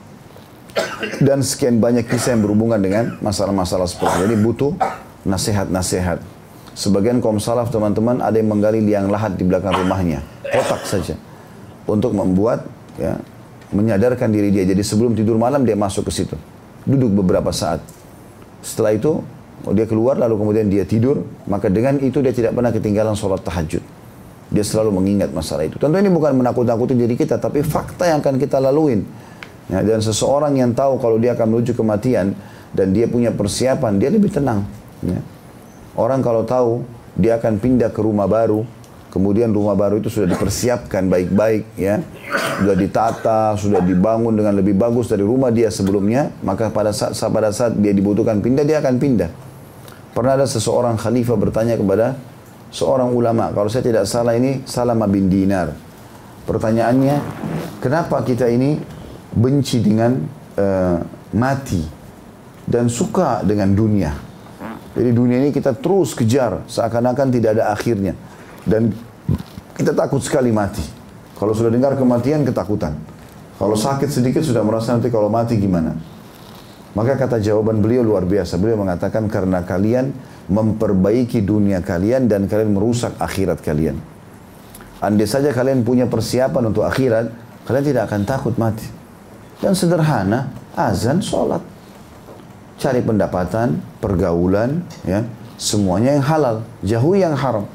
Dan sekian banyak kisah yang berhubungan dengan masalah-masalah seperti ini. Jadi butuh nasihat-nasihat. Sebagian kaum salaf teman-teman ada yang menggali liang lahat di belakang rumahnya, kotak saja, untuk membuat, ya, menyadarkan diri dia. Jadi sebelum tidur malam dia masuk ke situ, duduk beberapa saat. Setelah itu dia keluar, lalu kemudian dia tidur. Maka dengan itu dia tidak pernah ketinggalan sholat tahajud. dia selalu mengingat masalah itu. Tentu ini bukan menakut-nakuti diri kita, tapi fakta yang akan kita laluin. Ya, dan seseorang yang tahu kalau dia akan menuju kematian dan dia punya persiapan, dia lebih tenang. Ya. Orang kalau tahu dia akan pindah ke rumah baru, kemudian rumah baru itu sudah dipersiapkan baik-baik, ya, sudah ditata, sudah dibangun dengan lebih bagus dari rumah dia sebelumnya, maka pada saat pada saat dia dibutuhkan pindah, dia akan pindah. Pernah ada seseorang khalifah bertanya kepada seorang ulama, kalau saya tidak salah ini Salamah bin Dinar. Pertanyaannya, kenapa kita ini benci dengan uh, mati dan suka dengan dunia? Jadi dunia ini kita terus kejar seakan-akan tidak ada akhirnya. Dan kita takut sekali mati. Kalau sudah dengar kematian, ketakutan. Kalau sakit sedikit sudah merasa nanti kalau mati gimana. Maka kata jawaban beliau luar biasa. Beliau mengatakan karena kalian memperbaiki dunia kalian dan kalian merusak akhirat kalian. Andai saja kalian punya persiapan untuk akhirat, kalian tidak akan takut mati. Dan sederhana, azan, sholat. Cari pendapatan, pergaulan, ya, semuanya yang halal, jauhi yang haram.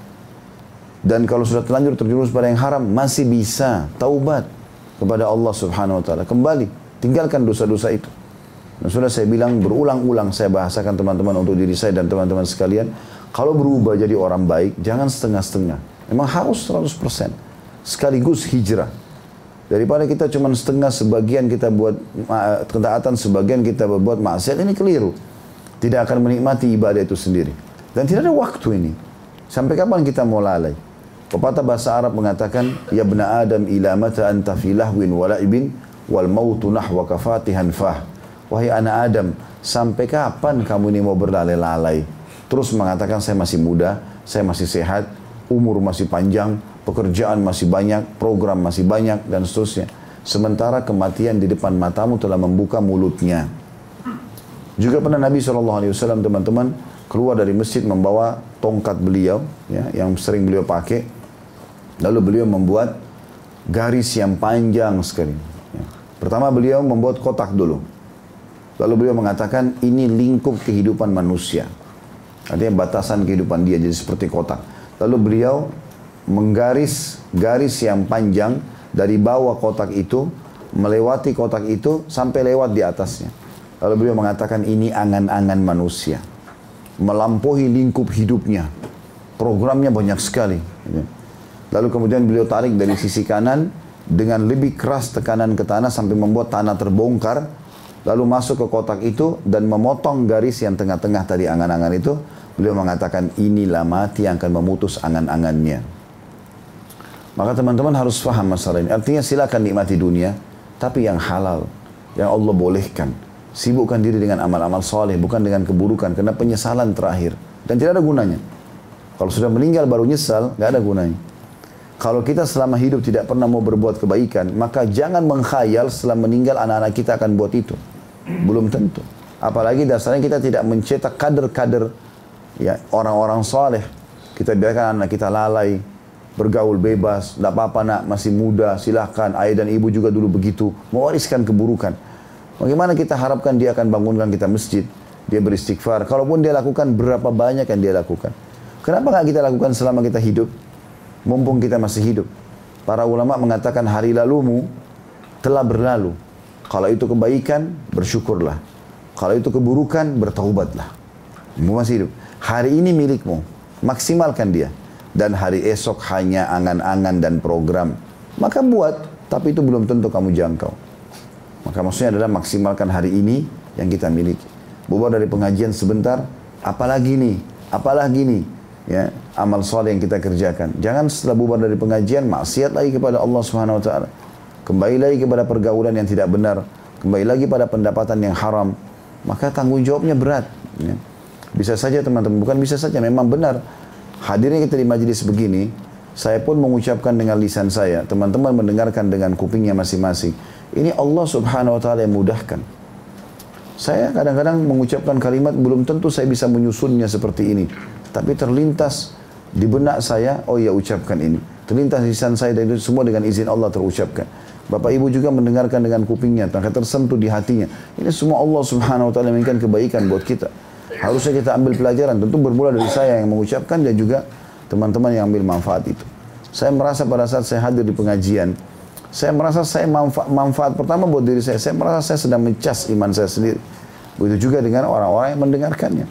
Dan kalau sudah terlanjur terjerumus pada yang haram, masih bisa taubat kepada Allah Subhanahu wa taala. Kembali, tinggalkan dosa-dosa itu. Dan sudah saya bilang berulang-ulang saya bahasakan teman-teman untuk diri saya dan teman-teman sekalian, kalau berubah jadi orang baik, jangan setengah-setengah. Memang harus seratus persen. Sekaligus hijrah. Daripada kita cuma setengah, sebagian kita buat ketaatan, sebagian kita berbuat maksiat, ini keliru. Tidak akan menikmati ibadah itu sendiri. Dan tidak ada waktu ini. Sampai kapan kita mau lalai? Pepatah bahasa Arab mengatakan, ya bna Adam ila mata anta fi lahwin wa la'ibin wal mautu nahwaka fatihan fah. Wahai anak Adam, sampai kapan kamu ini mau berlalai-lalai? Terus mengatakan saya masih muda, saya masih sehat, umur masih panjang, pekerjaan masih banyak, program masih banyak, dan seterusnya. Sementara kematian di depan matamu telah membuka mulutnya. Juga pernah Nabi shallallahu alaihi wasallam teman-teman keluar dari masjid membawa tongkat beliau, ya, yang sering beliau pakai. Lalu beliau membuat garis yang panjang sekali. Ya. Pertama beliau membuat kotak dulu. Lalu beliau mengatakan ini lingkup kehidupan manusia. Artinya batasan kehidupan dia jadi seperti kotak. Lalu beliau menggaris garis yang panjang dari bawah kotak itu, melewati kotak itu sampai lewat di atasnya. Lalu beliau mengatakan ini angan-angan manusia. Melampaui lingkup hidupnya. Programnya banyak sekali. Lalu kemudian beliau tarik dari sisi kanan dengan lebih keras tekanan ke tanah sampai membuat tanah terbongkar. Lalu masuk ke kotak itu dan memotong garis yang tengah-tengah tadi angan-angan itu. Beliau mengatakan inilah mati yang akan memutus angan-angannya. Maka teman-teman harus faham masalah ini. Artinya silakan nikmati dunia, tapi yang halal, yang Allah bolehkan. Sibukkan diri dengan amal-amal soleh, bukan dengan keburukan, karena penyesalan terakhir. Dan tidak ada gunanya. Kalau sudah meninggal baru nyesal, nggak ada gunanya. Kalau kita selama hidup tidak pernah mau berbuat kebaikan, maka jangan mengkhayal setelah meninggal anak-anak kita akan buat itu. Belum tentu. Apalagi dasarnya kita tidak mencetak kader-kader, ya, orang-orang soleh. Kita biarkan anak kita lalai, bergaul bebas, tidak apa-apa nak, masih muda, silahkan. Ayah dan ibu juga dulu begitu, mewariskan keburukan. Bagaimana kita harapkan dia akan bangunkan kita masjid, dia beristighfar. Kalaupun dia lakukan, berapa banyak yang dia lakukan. Kenapa nggak kita lakukan selama kita hidup? Mumpung kita masih hidup. Para ulama mengatakan hari lalumu telah berlalu. Kalau itu kebaikan, bersyukurlah. Kalau itu keburukan, bertaubatlah. Kamu masih hidup. Hari ini milikmu, maksimalkan dia. Dan hari esok hanya angan-angan dan program. Maka buat, tapi itu belum tentu kamu jangkau. Maka maksudnya adalah maksimalkan hari ini yang kita miliki. Bubar dari pengajian sebentar, apalagi nih, apalagi nih. Ya, amal soleh yang kita kerjakan. Jangan setelah bubar dari pengajian maksiat lagi kepada Allah Subhanahu wa taala. Kembali lagi kepada pergaulan yang tidak benar, kembali lagi pada pendapatan yang haram. Maka tanggung jawabnya berat, ya. Bisa saja teman-teman, bukan bisa saja, memang benar. Hadirnya kita di majelis begini, saya pun mengucapkan dengan lisan saya, teman-teman mendengarkan dengan kupingnya masing-masing. Ini Allah Subhanahu wa taala yang mudahkan. Saya kadang-kadang mengucapkan kalimat belum tentu saya bisa menyusunnya seperti ini. Tapi terlintas di benak saya, oh ya ucapkan ini. Terlintas lisan saya dan itu semua dengan izin Allah terucapkan. Bapak Ibu juga mendengarkan dengan kupingnya, maka tersentuh di hatinya. Ini semua Allah Subhanahu wa taala menginginkan kebaikan buat kita. Harusnya kita ambil pelajaran, tentu bermula dari saya yang mengucapkan dan juga teman-teman yang ambil manfaat itu. Saya merasa pada saat saya hadir di pengajian, saya merasa saya manfa manfaat pertama buat diri saya. Saya merasa saya sedang mencas iman saya sendiri. Begitu juga dengan orang-orang yang mendengarkannya.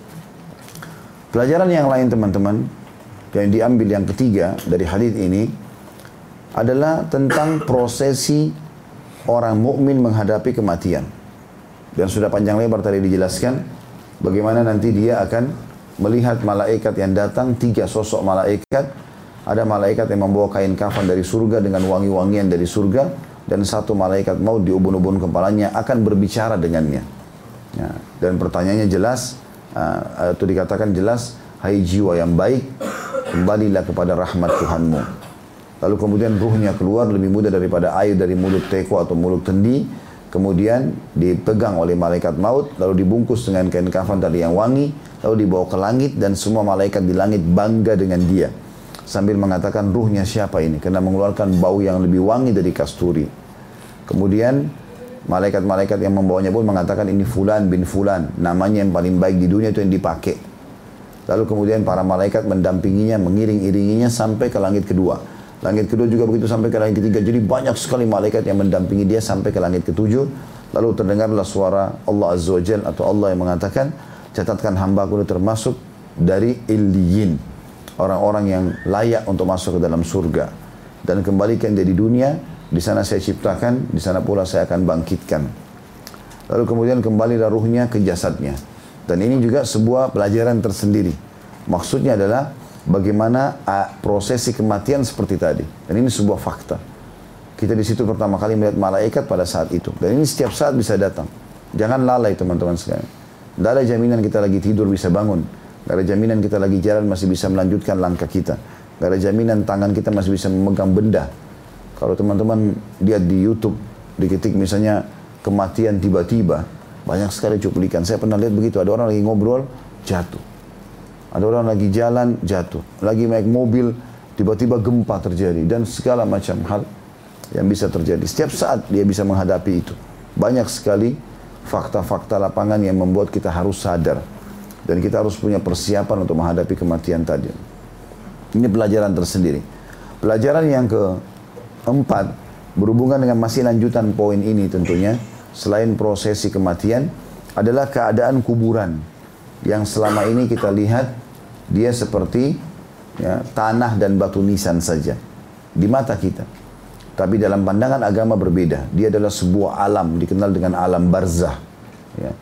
Pelajaran yang lain teman-teman, yang diambil yang ketiga dari hadis ini adalah tentang prosesi orang mukmin menghadapi kematian. Dan sudah panjang lebar tadi dijelaskan bagaimana nanti dia akan melihat malaikat yang datang, tiga sosok malaikat. Ada malaikat yang membawa kain kafan dari surga dengan wangi-wangian dari surga, dan satu malaikat maut di ubun-ubun kepalanya akan berbicara dengannya. Ya, dan pertanyaannya jelas, uh, itu dikatakan jelas, hai jiwa yang baik, kembalilah kepada rahmat Tuhanmu. Lalu kemudian ruhnya keluar lebih mudah daripada air dari mulut teko atau mulut kendi. Kemudian dipegang oleh malaikat maut, lalu dibungkus dengan kain kafan tadi yang wangi, lalu dibawa ke langit, dan semua malaikat di langit bangga dengan dia. Sambil mengatakan ruhnya siapa ini, karena mengeluarkan bau yang lebih wangi dari kasturi. Kemudian malaikat-malaikat yang membawanya pun mengatakan ini fulan bin fulan, namanya yang paling baik di dunia itu yang dipakai. Lalu kemudian para malaikat mendampinginya, mengiring-iringinya sampai ke langit kedua. Langit kedua juga begitu sampai ke langit ketiga. Jadi banyak sekali malaikat yang mendampingi dia sampai ke langit ketujuh. Lalu terdengarlah suara Allah Azza wa Jalla atau Allah yang mengatakan, catatkan hambaku itu termasuk dari Illiyin, orang-orang yang layak untuk masuk ke dalam surga. Dan kembalikan dia di dunia, di sana saya ciptakan, di sana pula saya akan bangkitkan. Lalu kemudian kembalilah ruhnya ke jasadnya. Dan ini juga sebuah pelajaran tersendiri. Maksudnya adalah bagaimana uh, prosesi kematian seperti tadi. Dan ini sebuah fakta. Kita di situ pertama kali melihat malaikat pada saat itu. Dan ini setiap saat bisa datang. Jangan lalai teman-teman sekalian. Tidak ada jaminan kita lagi tidur bisa bangun. Tidak ada jaminan kita lagi jalan masih bisa melanjutkan langkah kita. Tidak ada jaminan tangan kita masih bisa memegang benda. Kalau teman-teman lihat di YouTube, diketik misalnya kematian tiba-tiba, banyak sekali cuplikan. Saya pernah lihat begitu, ada orang lagi ngobrol, jatuh. Ada orang lagi jalan, jatuh. Lagi naik mobil, tiba-tiba gempa terjadi. Dan segala macam hal yang bisa terjadi. Setiap saat dia bisa menghadapi itu. Banyak sekali fakta-fakta lapangan yang membuat kita harus sadar. Dan kita harus punya persiapan untuk menghadapi kematian tadi. Ini pelajaran tersendiri. Pelajaran yang keempat, berhubungan dengan masih lanjutan poin ini tentunya, selain prosesi kematian, adalah keadaan kuburan. Yang selama ini kita lihat, dia seperti ya, tanah dan batu nisan saja. Di mata kita. Tapi dalam pandangan agama berbeda. Dia adalah sebuah alam, dikenal dengan alam barzah. Ya.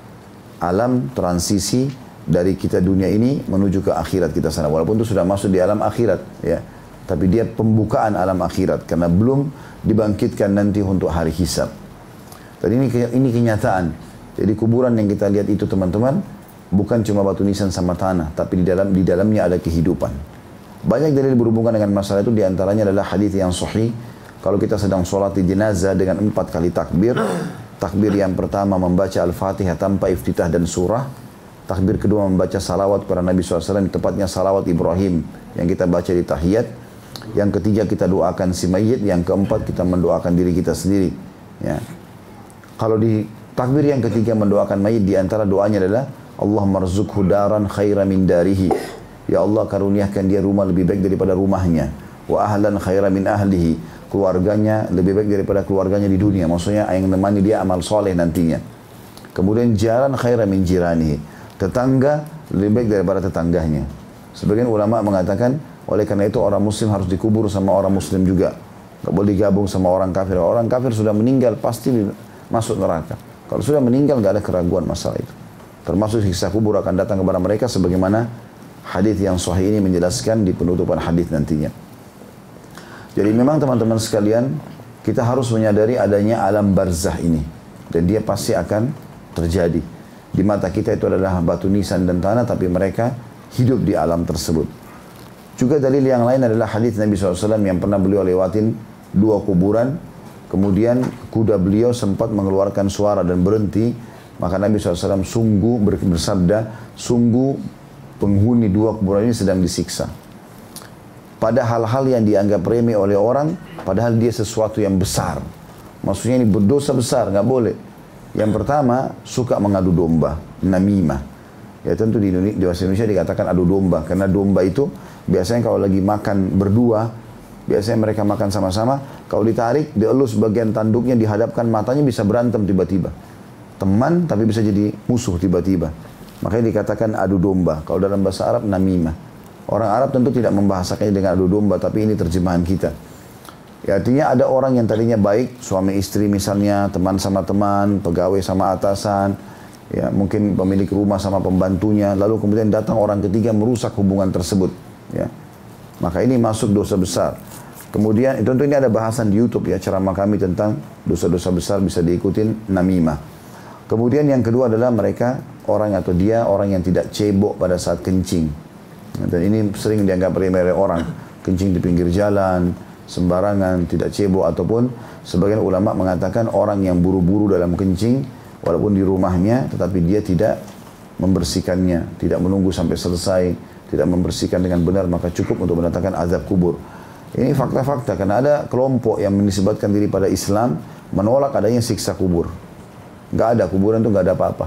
Alam transisi dari kita dunia ini menuju ke akhirat kita sana. Walaupun itu sudah masuk di alam akhirat. Ya. Tapi dia pembukaan alam akhirat. Karena belum dibangkitkan nanti untuk hari hisab. Dan ini, ini kenyataan. Jadi kuburan yang kita lihat itu teman-teman, bukan cuma batu nisan sama tanah. Tapi di dalam di dalamnya ada kehidupan. Banyak dalil berhubungan dengan masalah itu. Di antaranya adalah hadis yang sahih. Kalau kita sedang sholat di jenazah dengan empat kali takbir. Takbir yang pertama membaca Al-Fatihah tanpa iftitah dan surah. Takbir kedua membaca salawat kepada Nabi shallallahu alaihi wasallam, tepatnya salawat Ibrahim yang kita baca di tahiyat. Yang ketiga kita doakan si mayit. Yang keempat kita mendoakan diri kita sendiri. Ya. Kalau di takbir yang ketiga mendoakan mayit, di antara doanya adalah Allahumma rzuqhu daran khaira min darihi. Ya Allah karuniakan dia rumah lebih baik daripada rumahnya. Wa ahlan khaira min ahlihi. Keluarganya lebih baik daripada keluarganya di dunia. Maksudnya yang menemani dia amal soleh nantinya. Kemudian jaran khaira min jiranihi. Tetangga lebih baik daripada tetangganya. Sebagian ulama mengatakan, oleh karena itu orang muslim harus dikubur sama orang muslim juga. Gak boleh digabung sama orang kafir. Orang kafir sudah meninggal pasti masuk neraka. Kalau sudah meninggal gak ada keraguan masalah itu. Termasuk siksa kubur akan datang kepada mereka sebagaimana hadis yang sahih ini menjelaskan di penutupan hadis nantinya. Jadi memang teman-teman sekalian, kita harus menyadari adanya alam barzah ini. Dan dia pasti akan terjadi. Di mata kita itu adalah batu nisan dan tanah, tapi mereka hidup di alam tersebut. Juga dalil yang lain adalah hadis Nabi shallallahu alaihi wasallam yang pernah beliau lewatin dua kuburan. Kemudian kuda beliau sempat mengeluarkan suara dan berhenti. Maka Nabi shallallahu alaihi wasallam sungguh bersabda, sungguh penghuni dua kuburan ini sedang disiksa. Pada hal-hal yang dianggap remeh oleh orang, padahal dia sesuatu yang besar. Maksudnya ini berdosa besar, nggak boleh. Yang pertama, suka mengadu domba, namimah. Ya tentu di Indonesia, di bahasa Indonesia dikatakan adu domba. Karena domba itu biasanya kalau lagi makan berdua, Biasanya mereka makan sama-sama, kalau ditarik, dielus bagian tanduknya, dihadapkan matanya bisa berantem tiba-tiba. Teman tapi bisa jadi musuh tiba-tiba. Makanya dikatakan adu domba. Kalau dalam bahasa Arab namimah. Orang Arab tentu tidak membahasakannya dengan adu domba, tapi ini terjemahan kita. Ya, artinya ada orang yang tadinya baik, suami istri misalnya, teman sama teman, pegawai sama atasan, ya mungkin pemilik rumah sama pembantunya, lalu kemudian datang orang ketiga merusak hubungan tersebut. Ya. Maka ini masuk dosa besar. Kemudian tentu ini ada bahasan di YouTube ya, ceramah kami tentang dosa-dosa besar bisa diikutin namimah. Kemudian yang kedua adalah mereka orang atau dia orang yang tidak cebok pada saat kencing. Dan ini sering dianggap remeh oleh orang, kencing di pinggir jalan, sembarangan, tidak cebok, ataupun sebagian ulama mengatakan orang yang buru-buru dalam kencing walaupun di rumahnya tetapi dia tidak membersihkannya, tidak menunggu sampai selesai, tidak membersihkan dengan benar, maka cukup untuk mendatangkan azab kubur. Ini fakta-fakta karena ada kelompok yang menisbatkan diri pada Islam menolak adanya siksa kubur. Nggak ada, kuburan itu nggak ada apa-apa.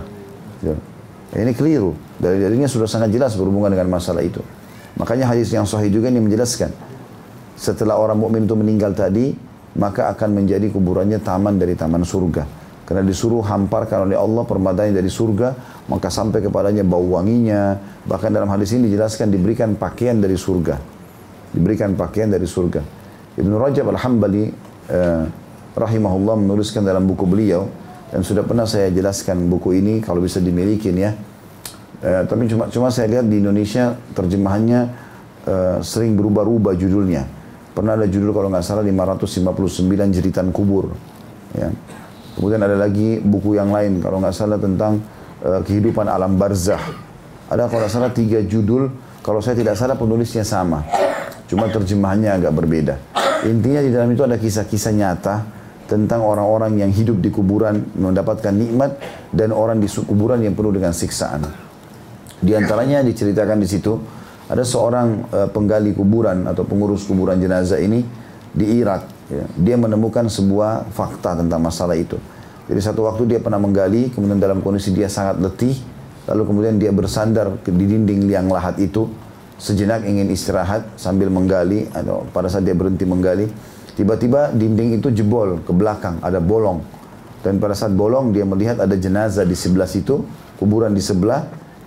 Ini keliru. Dari-darinya sudah sangat jelas berhubungan dengan masalah itu. Makanya hadis yang sahih juga ini menjelaskan. Setelah orang mukmin itu meninggal tadi, maka akan menjadi kuburannya taman dari taman surga. Karena disuruh hamparkan oleh Allah permadani dari surga, maka sampai kepadanya bau wanginya. Bahkan dalam hadis ini dijelaskan diberikan pakaian dari surga. Diberikan pakaian dari surga. Ibnu Rajab Al-Hambali eh, rahimahullah menuliskan dalam buku beliau, dan sudah pernah saya jelaskan buku ini kalau bisa dimiliki ya. Eh, tapi cuma cuma saya lihat di Indonesia terjemahannya eh, sering berubah-ubah judulnya. Pernah ada judul kalau nggak salah lima ratus lima puluh sembilan jeritan kubur. Ya. Kemudian ada lagi buku yang lain kalau nggak salah tentang uh, kehidupan alam barzah. Ada kalau nggak salah tiga judul, kalau saya tidak salah penulisnya sama. Cuma terjemahannya agak berbeda. Intinya di dalam itu ada kisah-kisah nyata tentang orang-orang yang hidup di kuburan mendapatkan nikmat dan orang di kuburan yang penuh dengan siksaan. Di antaranya diceritakan di situ ada seorang uh, penggali kuburan atau pengurus kuburan jenazah ini di Irak. Ya, dia menemukan sebuah fakta tentang masalah itu. Jadi satu waktu dia pernah menggali, kemudian dalam kondisi dia sangat letih, lalu kemudian dia bersandar di dinding liang lahat itu, sejenak ingin istirahat sambil menggali, atau pada saat dia berhenti menggali, tiba-tiba dinding itu jebol ke belakang, ada bolong. Dan pada saat bolong dia melihat ada jenazah di sebelah situ, kuburan di sebelah,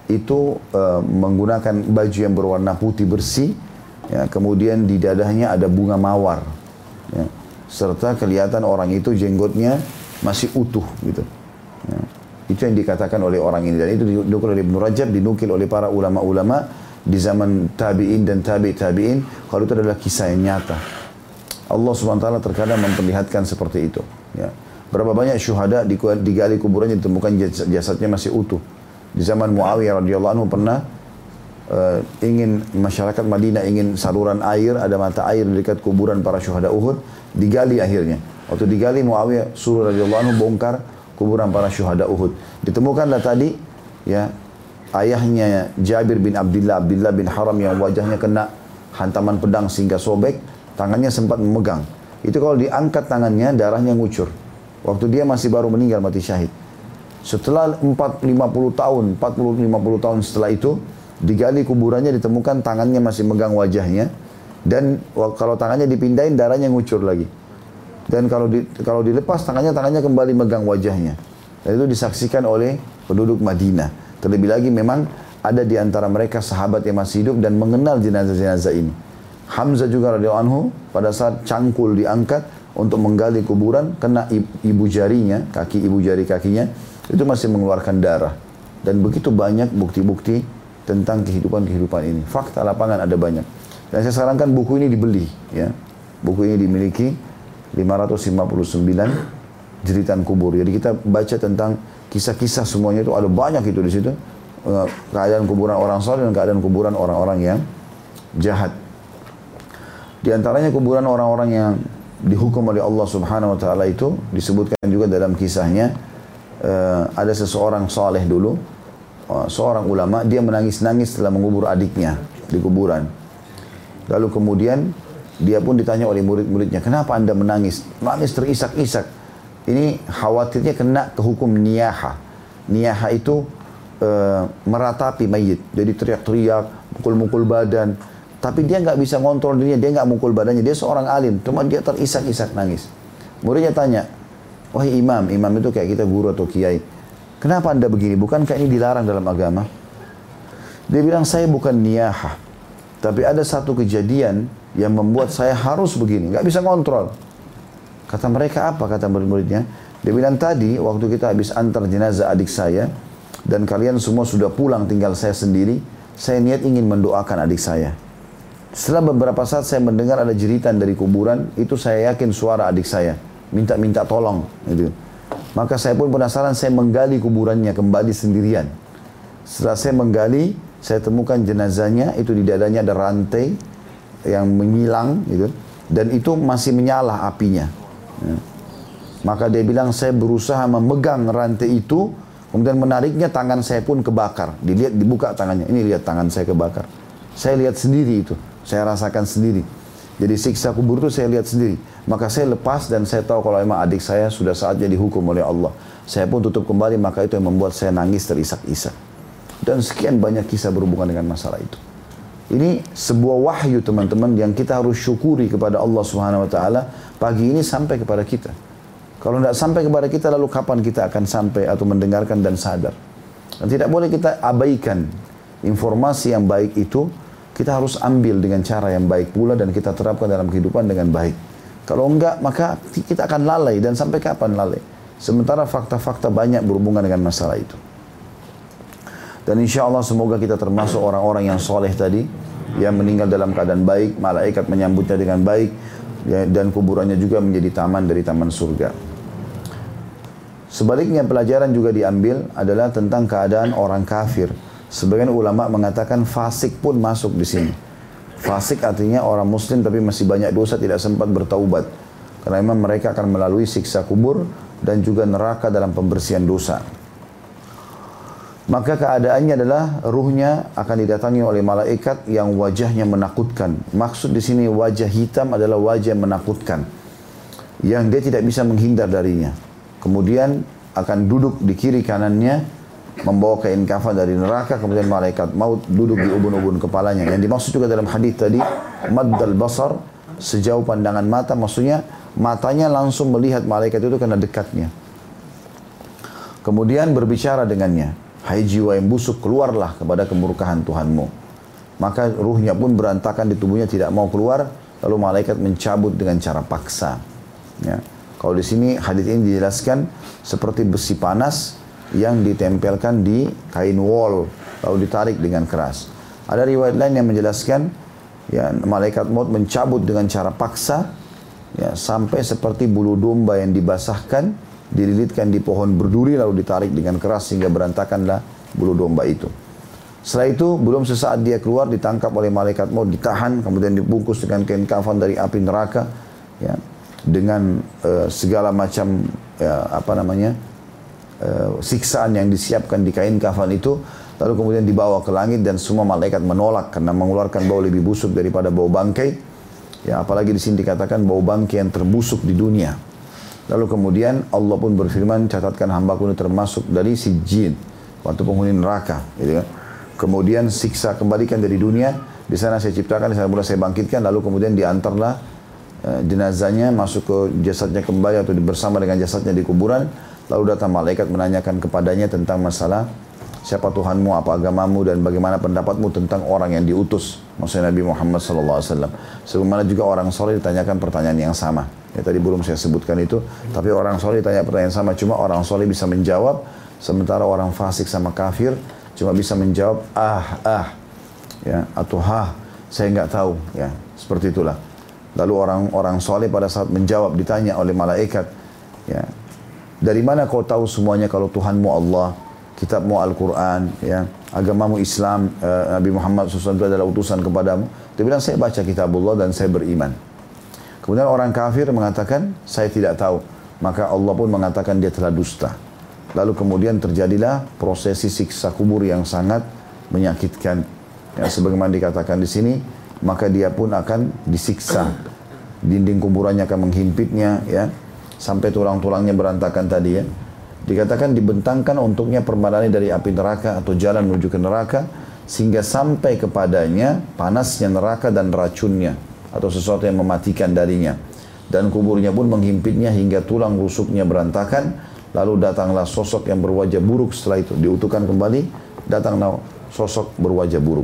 itu uh, menggunakan baju yang berwarna putih bersih, ya, kemudian di dadahnya ada bunga mawar. Ya, serta kelihatan orang itu jenggotnya masih utuh gitu. Ya, itu yang dikatakan oleh orang ini, dan itu dinukil oleh Ibnu Rajab, dinukil oleh para ulama-ulama di zaman tabi'in dan tabi' tabi'in, kalau itu adalah kisah yang nyata. Allah subhanahu wa taala terkadang memperlihatkan seperti itu. Ya. Berapa banyak syuhada digali kuburannya ditemukan jasadnya masih utuh. Di zaman Muawiyah radhiyallahu anhu pernah Uh, ingin masyarakat Madinah ingin saluran air, ada mata air di dekat kuburan para syuhada Uhud, digali akhirnya. Waktu digali Muawiyah suruh radhiyallahu anhu bongkar kuburan para syuhada Uhud. Ditemukanlah tadi ya ayahnya Jabir bin Abdullah Abdullah bin Haram yang wajahnya kena hantaman pedang sehingga sobek, tangannya sempat memegang. Itu kalau diangkat tangannya darahnya ngucur. Waktu dia masih baru meninggal mati syahid. Setelah empat puluh lima puluh tahun, empat puluh lima puluh tahun setelah itu digali kuburannya, ditemukan tangannya masih megang wajahnya, dan kalau tangannya dipindahin darahnya ngucur lagi, dan kalau di, kalau dilepas tangannya tangannya kembali megang wajahnya, dan itu disaksikan oleh penduduk Madinah. Terlebih lagi memang ada di antara mereka sahabat yang masih hidup dan mengenal jenazah-jenazah ini. Hamzah juga radhiyallahu anhu pada saat cangkul diangkat untuk menggali kuburan, kena ibu jarinya, kaki ibu jari kakinya itu masih mengeluarkan darah, dan begitu banyak bukti-bukti tentang kehidupan-kehidupan ini. Fakta lapangan ada banyak. Dan saya sarankan buku ini dibeli. Ya. Buku ini dimiliki lima ratus lima puluh sembilan jeritan kubur. Jadi kita baca tentang kisah-kisah semuanya itu, ada banyak itu di situ. Keadaan kuburan orang saleh dan keadaan kuburan orang-orang yang jahat. Di antaranya kuburan orang-orang yang dihukum oleh Allah Subhanahu wa taala itu disebutkan juga dalam kisahnya. Ada seseorang saleh dulu, seorang ulama, dia menangis-nangis setelah mengubur adiknya di kuburan. Lalu kemudian dia pun ditanya oleh murid-muridnya, kenapa anda menangis? Menangis terisak-isak. Ini khawatirnya kena ke hukum niyaha. Niyaha itu e, meratapi mayit. Jadi teriak-teriak, mukul-mukul badan. Tapi dia nggak bisa ngontrol dirinya, dia nggak mukul badannya, dia seorang alim, cuma dia terisak-isak nangis. Muridnya tanya, wahai imam, imam itu kayak kita guru atau kiai, kenapa anda begini? Bukankah ini dilarang dalam agama? Dia bilang, saya bukan niyahah, tapi ada satu kejadian yang membuat saya harus begini, nggak bisa ngontrol. Kata mereka apa? Kata murid-muridnya. Dia bilang, tadi waktu kita habis antar jenazah adik saya, dan kalian semua sudah pulang, tinggal saya sendiri, saya niat ingin mendoakan adik saya. Setelah beberapa saat saya mendengar ada jeritan dari kuburan, itu saya yakin suara adik saya, minta-minta tolong. Gitu. Maka saya pun penasaran, saya menggali kuburannya kembali sendirian. Setelah saya menggali, saya temukan jenazahnya, itu di dadanya ada rantai yang menyilang, gitu, dan itu masih menyala apinya. Ya. Maka dia bilang, saya berusaha memegang rantai itu, kemudian menariknya, tangan saya pun kebakar. Dilihat, dibuka tangannya, ini lihat tangan saya kebakar. Saya lihat sendiri itu, saya rasakan sendiri. Jadi siksa kubur itu saya lihat sendiri. Maka saya lepas dan saya tahu kalau memang adik saya sudah saatnya dihukum oleh Allah. Saya pun tutup kembali, maka itu yang membuat saya nangis terisak-isak. Dan sekian banyak kisah berhubungan dengan masalah itu. Ini sebuah wahyu teman-teman yang kita harus syukuri kepada Allah Subhanahu Wa Taala pagi ini sampai kepada kita. Kalau tidak sampai kepada kita, lalu kapan kita akan sampai atau mendengarkan dan sadar? Dan tidak boleh kita abaikan informasi yang baik itu. Kita harus ambil dengan cara yang baik pula dan kita terapkan dalam kehidupan dengan baik. Kalau enggak, maka kita akan lalai, dan sampai kapan lalai? Sementara fakta-fakta banyak berhubungan dengan masalah itu. Dan insya Allah semoga kita termasuk orang-orang yang soleh tadi, yang meninggal dalam keadaan baik, malaikat menyambutnya dengan baik, ya, dan kuburannya juga menjadi taman dari taman surga. Sebaliknya pelajaran juga diambil adalah tentang keadaan orang kafir. Sebagian ulama mengatakan fasik pun masuk di sini. Fasik artinya orang muslim tapi masih banyak dosa, tidak sempat bertaubat. Karena memang mereka akan melalui siksa kubur dan juga neraka dalam pembersihan dosa. Maka keadaannya adalah ruhnya akan didatangi oleh malaikat yang wajahnya menakutkan. Maksud di sini wajah hitam adalah wajah menakutkan, yang dia tidak bisa menghindar darinya. Kemudian akan duduk di kiri kanannya, membawa kain kafan dari neraka. Kemudian malaikat maut duduk di ubun-ubun kepalanya. Yang dimaksud juga dalam hadis tadi, maddal basar, sejauh pandangan mata, maksudnya matanya langsung melihat malaikat itu karena dekatnya. Kemudian berbicara dengannya, hai jiwa yang busuk, keluarlah kepada kemurkaan Tuhanmu. Maka ruhnya pun berantakan di tubuhnya, tidak mau keluar. Lalu malaikat mencabut dengan cara paksa. Ya. Kalau di sini hadis ini dijelaskan seperti besi panas yang ditempelkan di kain wol, lalu ditarik dengan keras. Ada riwayat lain yang menjelaskan, ya, malaikat maut mencabut dengan cara paksa, ya, sampai seperti bulu domba yang dibasahkan, dililitkan di pohon berduri, lalu ditarik dengan keras sehingga berantakanlah bulu domba itu. Setelah itu, belum sesaat dia keluar, ditangkap oleh malaikat maut, ditahan, kemudian dibungkus dengan kain kafan dari api neraka, ya, dengan uh, segala macam, ya, apa namanya, uh, siksaan yang disiapkan di kain kafan itu, lalu kemudian dibawa ke langit dan semua malaikat menolak karena mengeluarkan bau lebih busuk daripada bau bangkai. Ya, apalagi di sini dikatakan bau bangkai yang terbusuk di dunia. Lalu kemudian Allah pun berfirman, catatkan hambaku ini termasuk dari si jin, waktu penghuni neraka, gitu kan. Kemudian siksa kembalikan dari dunia, di sana saya ciptakan, di sana pula saya bangkitkan, lalu kemudian diantarlah uh, jenazahnya masuk ke jasadnya kembali atau bersama dengan jasadnya di kuburan. Lalu datang malaikat menanyakan kepadanya tentang masalah siapa Tuhanmu, apa agamamu, dan bagaimana pendapatmu tentang orang yang diutus, maksudnya Nabi Muhammad sallallahu alaihi wasallam. Sebagaimana juga orang soleh ditanyakan pertanyaan yang sama. Ya, tadi belum saya sebutkan itu, tapi orang soleh ditanya pertanyaan sama, cuma orang soleh bisa menjawab, sementara orang fasik sama kafir cuma bisa menjawab ah ah, ya, atau ha, saya nggak tahu, ya, seperti itulah. Lalu orang-orang soleh pada saat menjawab ditanya oleh malaikat, ya, dari mana kau tahu semuanya kalau Tuhanmu Allah, kitabmu Al-Quran, ya, agamamu Islam, uh, Nabi Muhammad shallallahu alaihi wasallam itu adalah utusan kepadamu? Dia bilang, saya baca kitabullah dan saya beriman. Kemudian orang kafir mengatakan, saya tidak tahu. Maka Allah pun mengatakan dia telah dusta. Lalu kemudian terjadilah prosesi siksa kubur yang sangat menyakitkan. Ya, sebagaimana dikatakan di sini, maka dia pun akan disiksa. Dinding kuburannya akan menghimpitnya, ya, sampai tulang-tulangnya berantakan tadi, ya. Dikatakan dibentangkan untuknya permadani dari api neraka atau jalan menuju ke neraka, sehingga sampai kepadanya panasnya neraka dan racunnya atau sesuatu yang mematikan darinya. Dan kuburnya pun menghimpitnya hingga tulang rusuknya berantakan. Lalu datanglah sosok yang berwajah buruk setelah itu. Diutuhkan kembali, datanglah sosok berwajah buruk.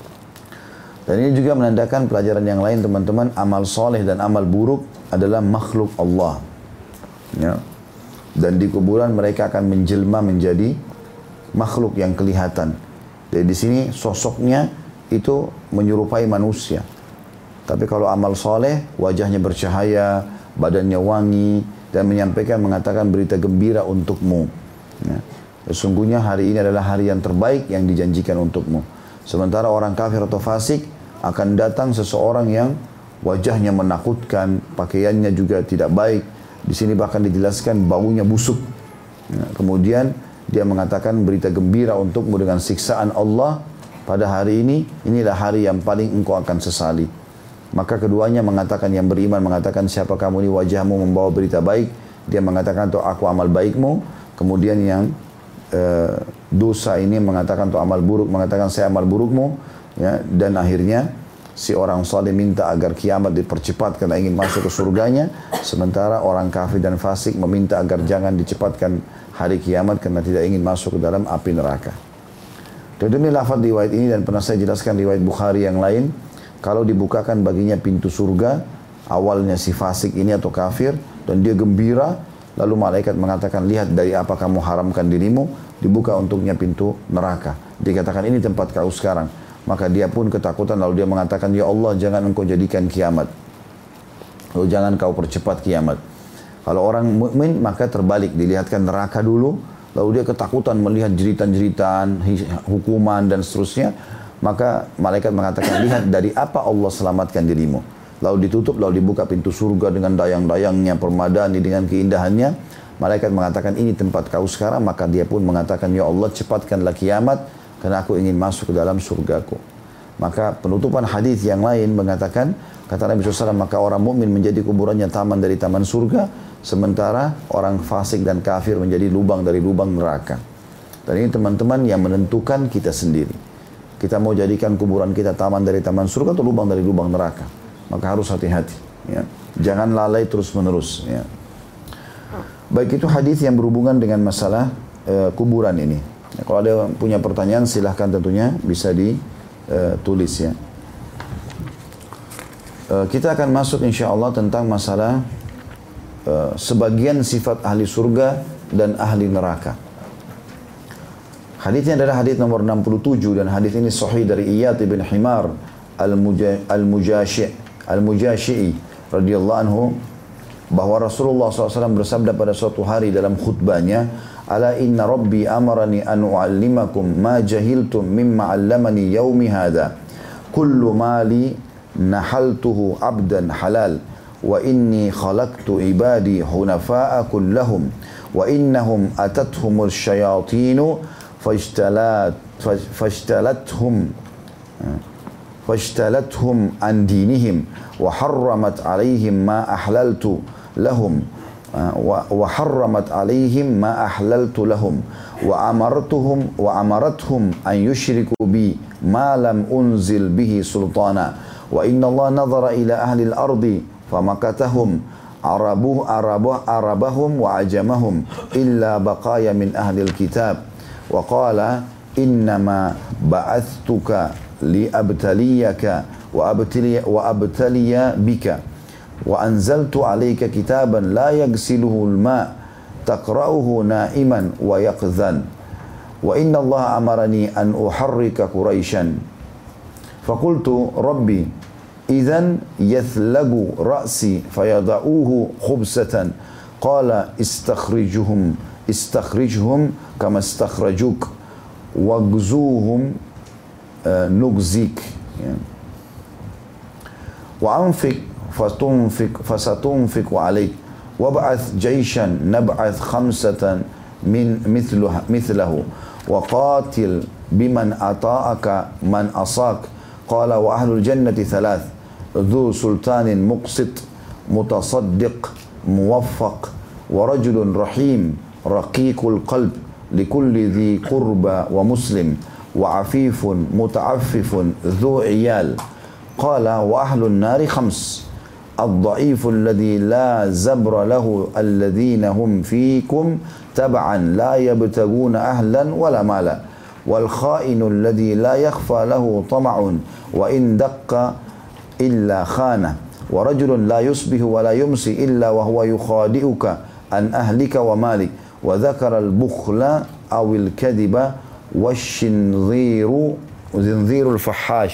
Dan ini juga menandakan pelajaran yang lain teman-teman. Amal soleh dan amal buruk adalah makhluk Allah. Ya. Dan di kuburan mereka akan menjelma menjadi makhluk yang kelihatan. Jadi di sini sosoknya itu menyerupai manusia. Tapi kalau amal soleh, wajahnya bercahaya, badannya wangi, dan menyampaikan, mengatakan berita gembira untukmu. Ya. Sesungguhnya hari ini adalah hari yang terbaik yang dijanjikan untukmu. Sementara orang kafir atau fasik akan datang seseorang yang wajahnya menakutkan, pakaiannya juga tidak baik. Di sini bahkan dijelaskan baunya busuk. Ya. Kemudian dia mengatakan berita gembira untukmu dengan siksaan Allah pada hari ini. Inilah hari yang paling engkau akan sesali. Maka keduanya mengatakan, yang beriman mengatakan, siapa kamu ini, wajahmu membawa berita baik. Dia mengatakan, tuh aku amal baikmu. Kemudian yang e, dosa ini mengatakan, tuh amal buruk, mengatakan saya amal burukmu. Ya, dan akhirnya si orang saleh minta agar kiamat dipercepat karena ingin masuk ke surganya. Sementara orang kafir dan fasik meminta agar jangan dicepatkan hari kiamat karena tidak ingin masuk ke dalam api neraka. Demi lafaz riwayat ini dan pernah saya jelaskan riwayat Bukhari yang lain. Kalau dibukakan baginya pintu surga, awalnya si fasik ini atau kafir, dan dia gembira, lalu malaikat mengatakan, lihat dari apa kamu haramkan dirimu, dibuka untuknya pintu neraka. Dikatakan, ini tempat kau sekarang. Maka dia pun ketakutan, lalu dia mengatakan, ya Allah jangan engkau jadikan kiamat. Lalu jangan kau percepat kiamat. Kalau orang mukmin maka terbalik, dilihatkan neraka dulu, lalu dia ketakutan melihat jeritan-jeritan, hukuman dan seterusnya. Maka malaikat mengatakan, lihat dari apa Allah selamatkan dirimu. Lalu ditutup, lalu dibuka pintu surga dengan dayang-dayangnya, permadani dengan keindahannya. Malaikat mengatakan, ini tempat kau sekarang. Maka dia pun mengatakan, ya Allah cepatkanlah kiamat, karena aku ingin masuk ke dalam surgaku. Maka penutupan hadis yang lain mengatakan, kata Nabi shallallahu alaihi wasallam, maka orang mukmin menjadi kuburannya taman dari taman surga, sementara orang fasik dan kafir menjadi lubang dari lubang neraka. Dan ini teman-teman yang menentukan kita sendiri. Kita mau jadikan kuburan kita taman dari taman surga atau lubang dari lubang neraka. Maka harus hati-hati. Ya. Jangan lalai terus-menerus. Ya. Baik, itu hadis yang berhubungan dengan masalah uh, kuburan ini. Ya, kalau ada punya pertanyaan silahkan tentunya bisa ditulis uh, ya. Uh, kita akan masuk insya Allah tentang masalah uh, sebagian sifat ahli surga dan ahli neraka. Hadisnya adalah hadis nomor enam puluh tujuh dan hadis ini sahih dari Iyad bin Himar al-Mujashi' al-Mujashi'i radhiyallahu anhu, bahwa Rasulullah shallallahu alaihi wasallam bersabda pada suatu hari dalam khutbahnya, ala inna rabbi amarani an u'allimakum ma jahiltum mimma 'allamani yaumi hadha kullu mali nahaltuhu abdan halal wa inni khalaqtu ibadi hunafa'a kullahum wa innahum atathumul syayatinu فاجتلت فاجتلتهم فاجتلتهم عن دينهم وحرمت عليهم ما أحللت لهم وحرمت عليهم ما أحللت لهم وأمرتهم وأمرتهم أن يشركوا بي ما لم أنزل به سلطانا وإن الله نظر إلى أهل الأرض فمكتهم عربه عربه عربهم وعجمهم إلا بقايا من أهل الكتاب وقال إنما بعثتك لأبتليك وأبتلي, وأبتلي بك وأنزلت عليك كتابا لا يغسله الماء تقرأه نائما ويقظا وإن الله أمرني أن أحرك قريشا فقلت ربي إذن يثلق رأسي فيضعوه خبزة قال استخرجهم استخرجهم كما استخرجوك واغزوهم نغزيك وأنفق فتنفق فستنفق عليك وابعث جيشا نبعث خمسة من مثله, مثله وقاتل بمن أطاعك من أصاك قال وأهل الجنة ثلاث ذو سلطان مقسط متصدق موفق ورجل رحيم رقيق القلب لكل ذي قربى ومسلم wa afifun muta'affifun dhu iyal. Qala wa ahlun nari khams. الضعيف الذي لا زبر له الذين هم فيكم تبعا لا يبتغون أهلا ولا مالا والخائن الذي لا يخفى له طمع وإن دق إلا خانه ورجل لا يصبح ولا يمسي إلا وهو يخادئك عن أهلك ومالك وذكر البخل أو الكذب والشنظير وزنظير الفحاش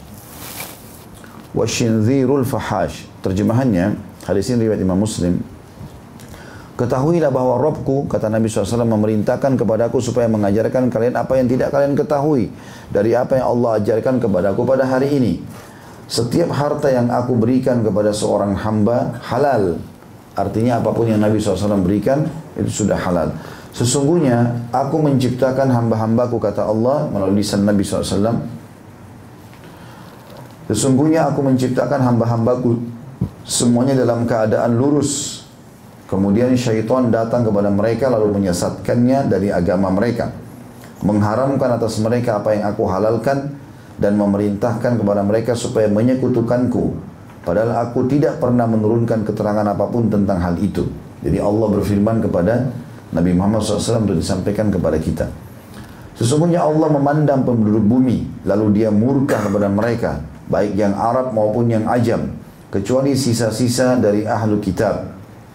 والشنظير الفحاش. Terjemahannya, hadis ini riwayat Imam Muslim. Ketahuilah bahwa Rabbku, kata Nabi shallallahu alaihi wasallam, memerintahkan kepadaku supaya mengajarkan kalian apa yang tidak kalian ketahui dari apa yang Allah ajarkan kepadaku pada hari ini. Setiap harta yang aku berikan kepada seorang hamba halal. Artinya apapun yang Nabi shallallahu alaihi wasallam berikan itu sudah halal. Sesungguhnya aku menciptakan hamba-hambaku, kata Allah melalui lisan Nabi shallallahu alaihi wasallam. Sesungguhnya aku menciptakan hamba-hambaku semuanya dalam keadaan lurus. Kemudian syaitan datang kepada mereka lalu menyesatkannya dari agama mereka, mengharamkan atas mereka apa yang aku halalkan dan memerintahkan kepada mereka supaya menyekutukanku, padahal aku tidak pernah menurunkan keterangan apapun tentang hal itu. Jadi Allah berfirman kepada Nabi Muhammad shallallahu alaihi wasallam untuk disampaikan kepada kita. Sesungguhnya Allah memandang penduduk bumi lalu dia murka kepada mereka, baik yang Arab maupun yang Ajam, kecuali sisa-sisa dari ahlu kitab.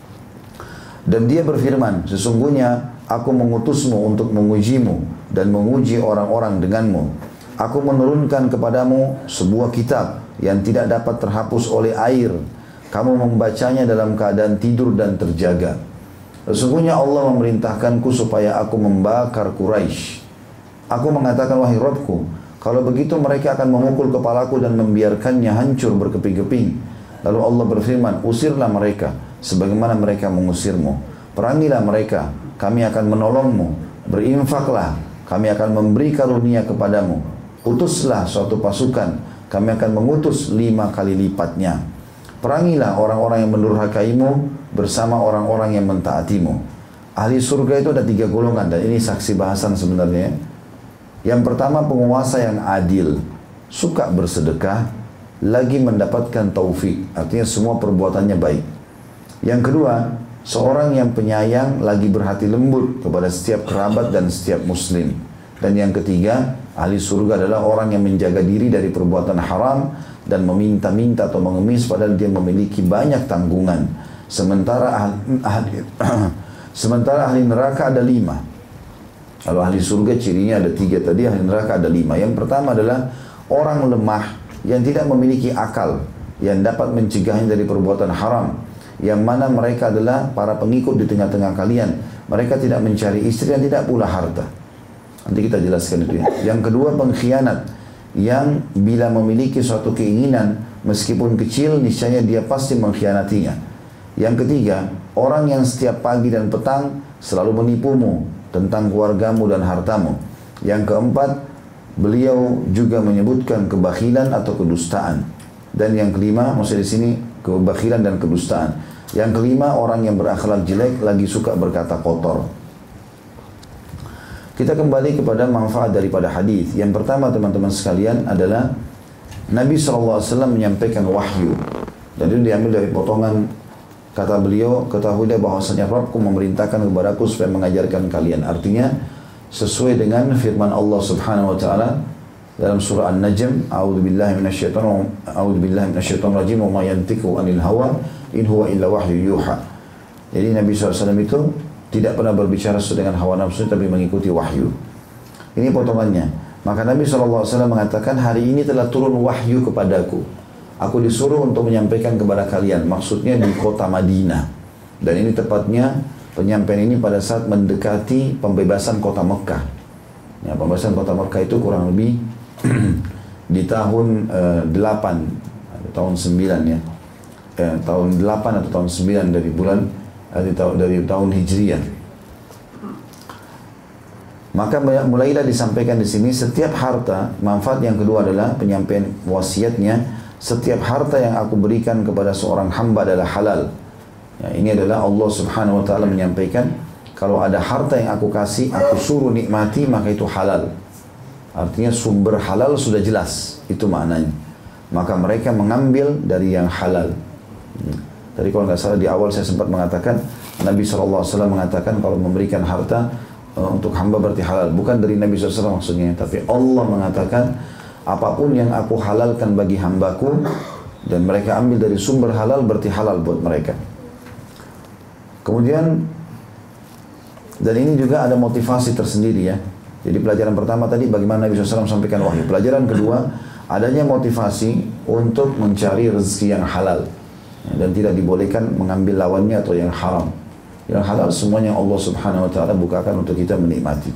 Dan dia berfirman, sesungguhnya aku mengutusmu untuk mengujimu dan menguji orang-orang denganmu. Aku menurunkan kepadamu sebuah kitab yang tidak dapat terhapus oleh air. Kamu membacanya dalam keadaan tidur dan terjaga. Sesungguhnya Allah memerintahkanku supaya aku membakar Quraisy. Aku mengatakan, wahai Rabbku, kalau begitu mereka akan memukul kepalaku dan membiarkannya hancur berkeping-keping. Lalu Allah berfirman, usirlah mereka sebagaimana mereka mengusirmu. Perangilah mereka, kami akan menolongmu. Berinfaklah, kami akan memberi karunia kepadamu. Utuslah suatu pasukan, kami akan mengutus lima kali lipatnya. Perangilah orang-orang yang mendurhakaimu bersama orang-orang yang mentaatimu. Ahli surga itu ada tiga golongan, dan ini saksi bahasan sebenarnya. Yang pertama, penguasa yang adil, suka bersedekah, lagi mendapatkan taufik, artinya semua perbuatannya baik. Yang kedua, seorang yang penyayang, lagi berhati lembut kepada setiap kerabat dan setiap muslim. Dan yang ketiga, ahli surga adalah orang yang menjaga diri dari perbuatan haram dan meminta-minta atau mengemis padahal dia memiliki banyak tanggungan. Sementara ahli, ahli, sementara ahli neraka ada lima. Kalau ahli surga cirinya ada tiga tadi, ahli neraka ada lima. Yang pertama adalah orang lemah yang tidak memiliki akal, yang dapat mencegahnya dari perbuatan haram, yang mana mereka adalah para pengikut di tengah-tengah kalian. Mereka tidak mencari istri dan tidak pula harta. Nanti kita jelaskan itu ya. Yang kedua, pengkhianat, yang bila memiliki suatu keinginan meskipun kecil, niscaya dia pasti mengkhianatinya. Yang ketiga, orang yang setiap pagi dan petang selalu menipumu tentang keluargamu dan hartamu. Yang keempat, beliau juga menyebutkan kebakhilan atau kedustaan. Dan yang kelima, maksudnya di sini kebakhilan dan kedustaan. Yang kelima, orang yang berakhlak jelek lagi suka berkata kotor. Kita kembali kepada manfaat daripada hadis. Yang pertama, teman-teman sekalian, adalah Nabi shallallahu alaihi wasallam menyampaikan wahyu. Dan itu diambil dari potongan kata beliau, ketahuilah bahwasanya Rabbku memerintahkan kepadaku supaya mengajarkan kalian. Artinya sesuai dengan firman Allah Subhanahu wa taala dalam surah An-Najm, a'udzubillahi minasyaitonir a'udzubillahi minasyaitonir rajim, wa ma yantiqu 'anil hawa in huwa illa wahyu yuha. Jadi Nabi shallallahu alaihi wasallam itu tidak pernah berbicara sesuai dengan hawa nafsu, tapi mengikuti wahyu. Ini potongannya. Maka Nabi shallallahu alaihi wasallam mengatakan, hari ini telah turun wahyu kepadaku. Aku disuruh untuk menyampaikan kepada kalian. Maksudnya di kota Madinah. Dan ini tepatnya penyampaian ini pada saat mendekati pembebasan kota Mekah. Ya, pembebasan kota Mekah itu kurang lebih di tahun uh, delapan, tahun sembilan ya. Eh, tahun delapan atau tahun sembilan dari bulan dari tahun dari tahun Hijriah. Maka mulailah disampaikan di sini setiap harta. Manfaat yang kedua adalah penyampaian wasiatnya. Setiap harta yang aku berikan kepada seorang hamba adalah halal. Ya, ini adalah Allah Subhanahu wa taala menyampaikan, kalau ada harta yang aku kasih, aku suruh nikmati, maka itu halal. Artinya sumber halal sudah jelas, itu maknanya. Maka mereka mengambil dari yang halal. Tadi kalau nggak salah di awal saya sempat mengatakan, Nabi shallallahu alaihi wasallam mengatakan kalau memberikan harta uh, untuk hamba berarti halal. Bukan dari Nabi shallallahu alaihi wasallam maksudnya, tapi Allah mengatakan apapun yang aku halalkan bagi hambaku dan mereka ambil dari sumber halal berarti halal buat mereka. Kemudian, dan ini juga ada motivasi tersendiri ya. Jadi pelajaran pertama tadi bagaimana Nabi shallallahu alaihi wasallam sampaikan wahyu. Pelajaran kedua, adanya motivasi untuk mencari rezeki yang halal. Dan tidak dibolehkan mengambil lawannya atau yang haram. Yang halal semuanya Allah subhanahu wa ta'ala bukakan untuk kita menikmati.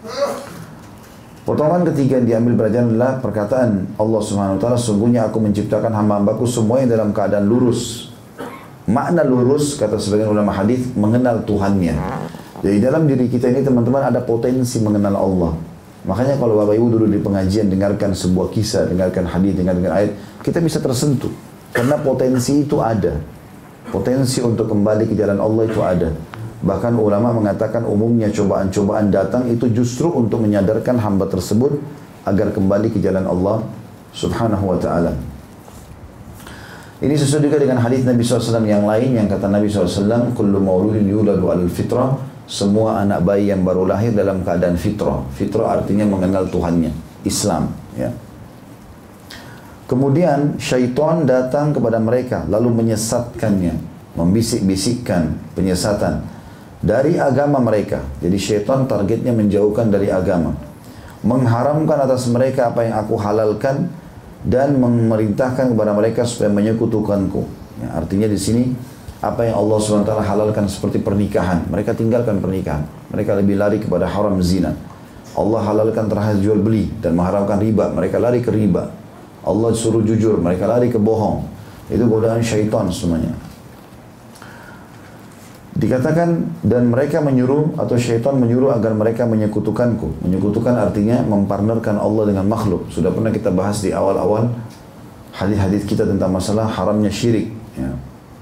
Potongan ketiga yang diambil pelajaran adalah perkataan Allah subhanahu wa ta'ala, sungguhnya aku menciptakan hamba-hambaku semuanya dalam keadaan lurus. Makna lurus, kata sebagian ulama hadis, mengenal Tuhannya. Jadi dalam diri kita ini teman-teman ada potensi mengenal Allah. Makanya kalau Bapak Ibu dulu di pengajian dengarkan sebuah kisah, dengarkan hadis, dengarkan ayat, kita bisa tersentuh. Karena potensi itu ada. Potensi untuk kembali ke jalan Allah itu ada. Bahkan ulama mengatakan umumnya cobaan-cobaan datang itu justru untuk menyadarkan hamba tersebut agar kembali ke jalan Allah subhanahu wa ta'ala. Ini sesuai juga dengan hadis Nabi shallallahu alaihi wasallam yang lain yang kata Nabi shallallahu alaihi wasallam, kullu mauludin yuladu alal fitrah, semua anak bayi yang baru lahir dalam keadaan fitrah. Fitrah artinya mengenal Tuhannya, Islam. Ya. Kemudian syaitan datang kepada mereka lalu menyesatkannya, membisik-bisikkan penyesatan dari agama mereka. Jadi syaitan targetnya menjauhkan dari agama, mengharamkan atas mereka apa yang aku halalkan dan memerintahkan kepada mereka supaya menyekutukanku. Ya, artinya di sini apa yang Allah subhanahu wa taala halalkan seperti pernikahan, mereka tinggalkan pernikahan. Mereka lebih lari kepada haram zina. Allah halalkan terhadap jual beli dan mengharamkan riba, mereka lari ke riba. Allah suruh jujur, mereka lari ke bohong. Itu godaan syaitan semuanya. Dikatakan dan mereka menyuruh atau syaitan menyuruh agar mereka menyekutukanku. Menyekutukan artinya mempartnerkan Allah dengan makhluk. Sudah pernah kita bahas di awal-awal hadis-hadis kita tentang masalah haramnya syirik. Ya.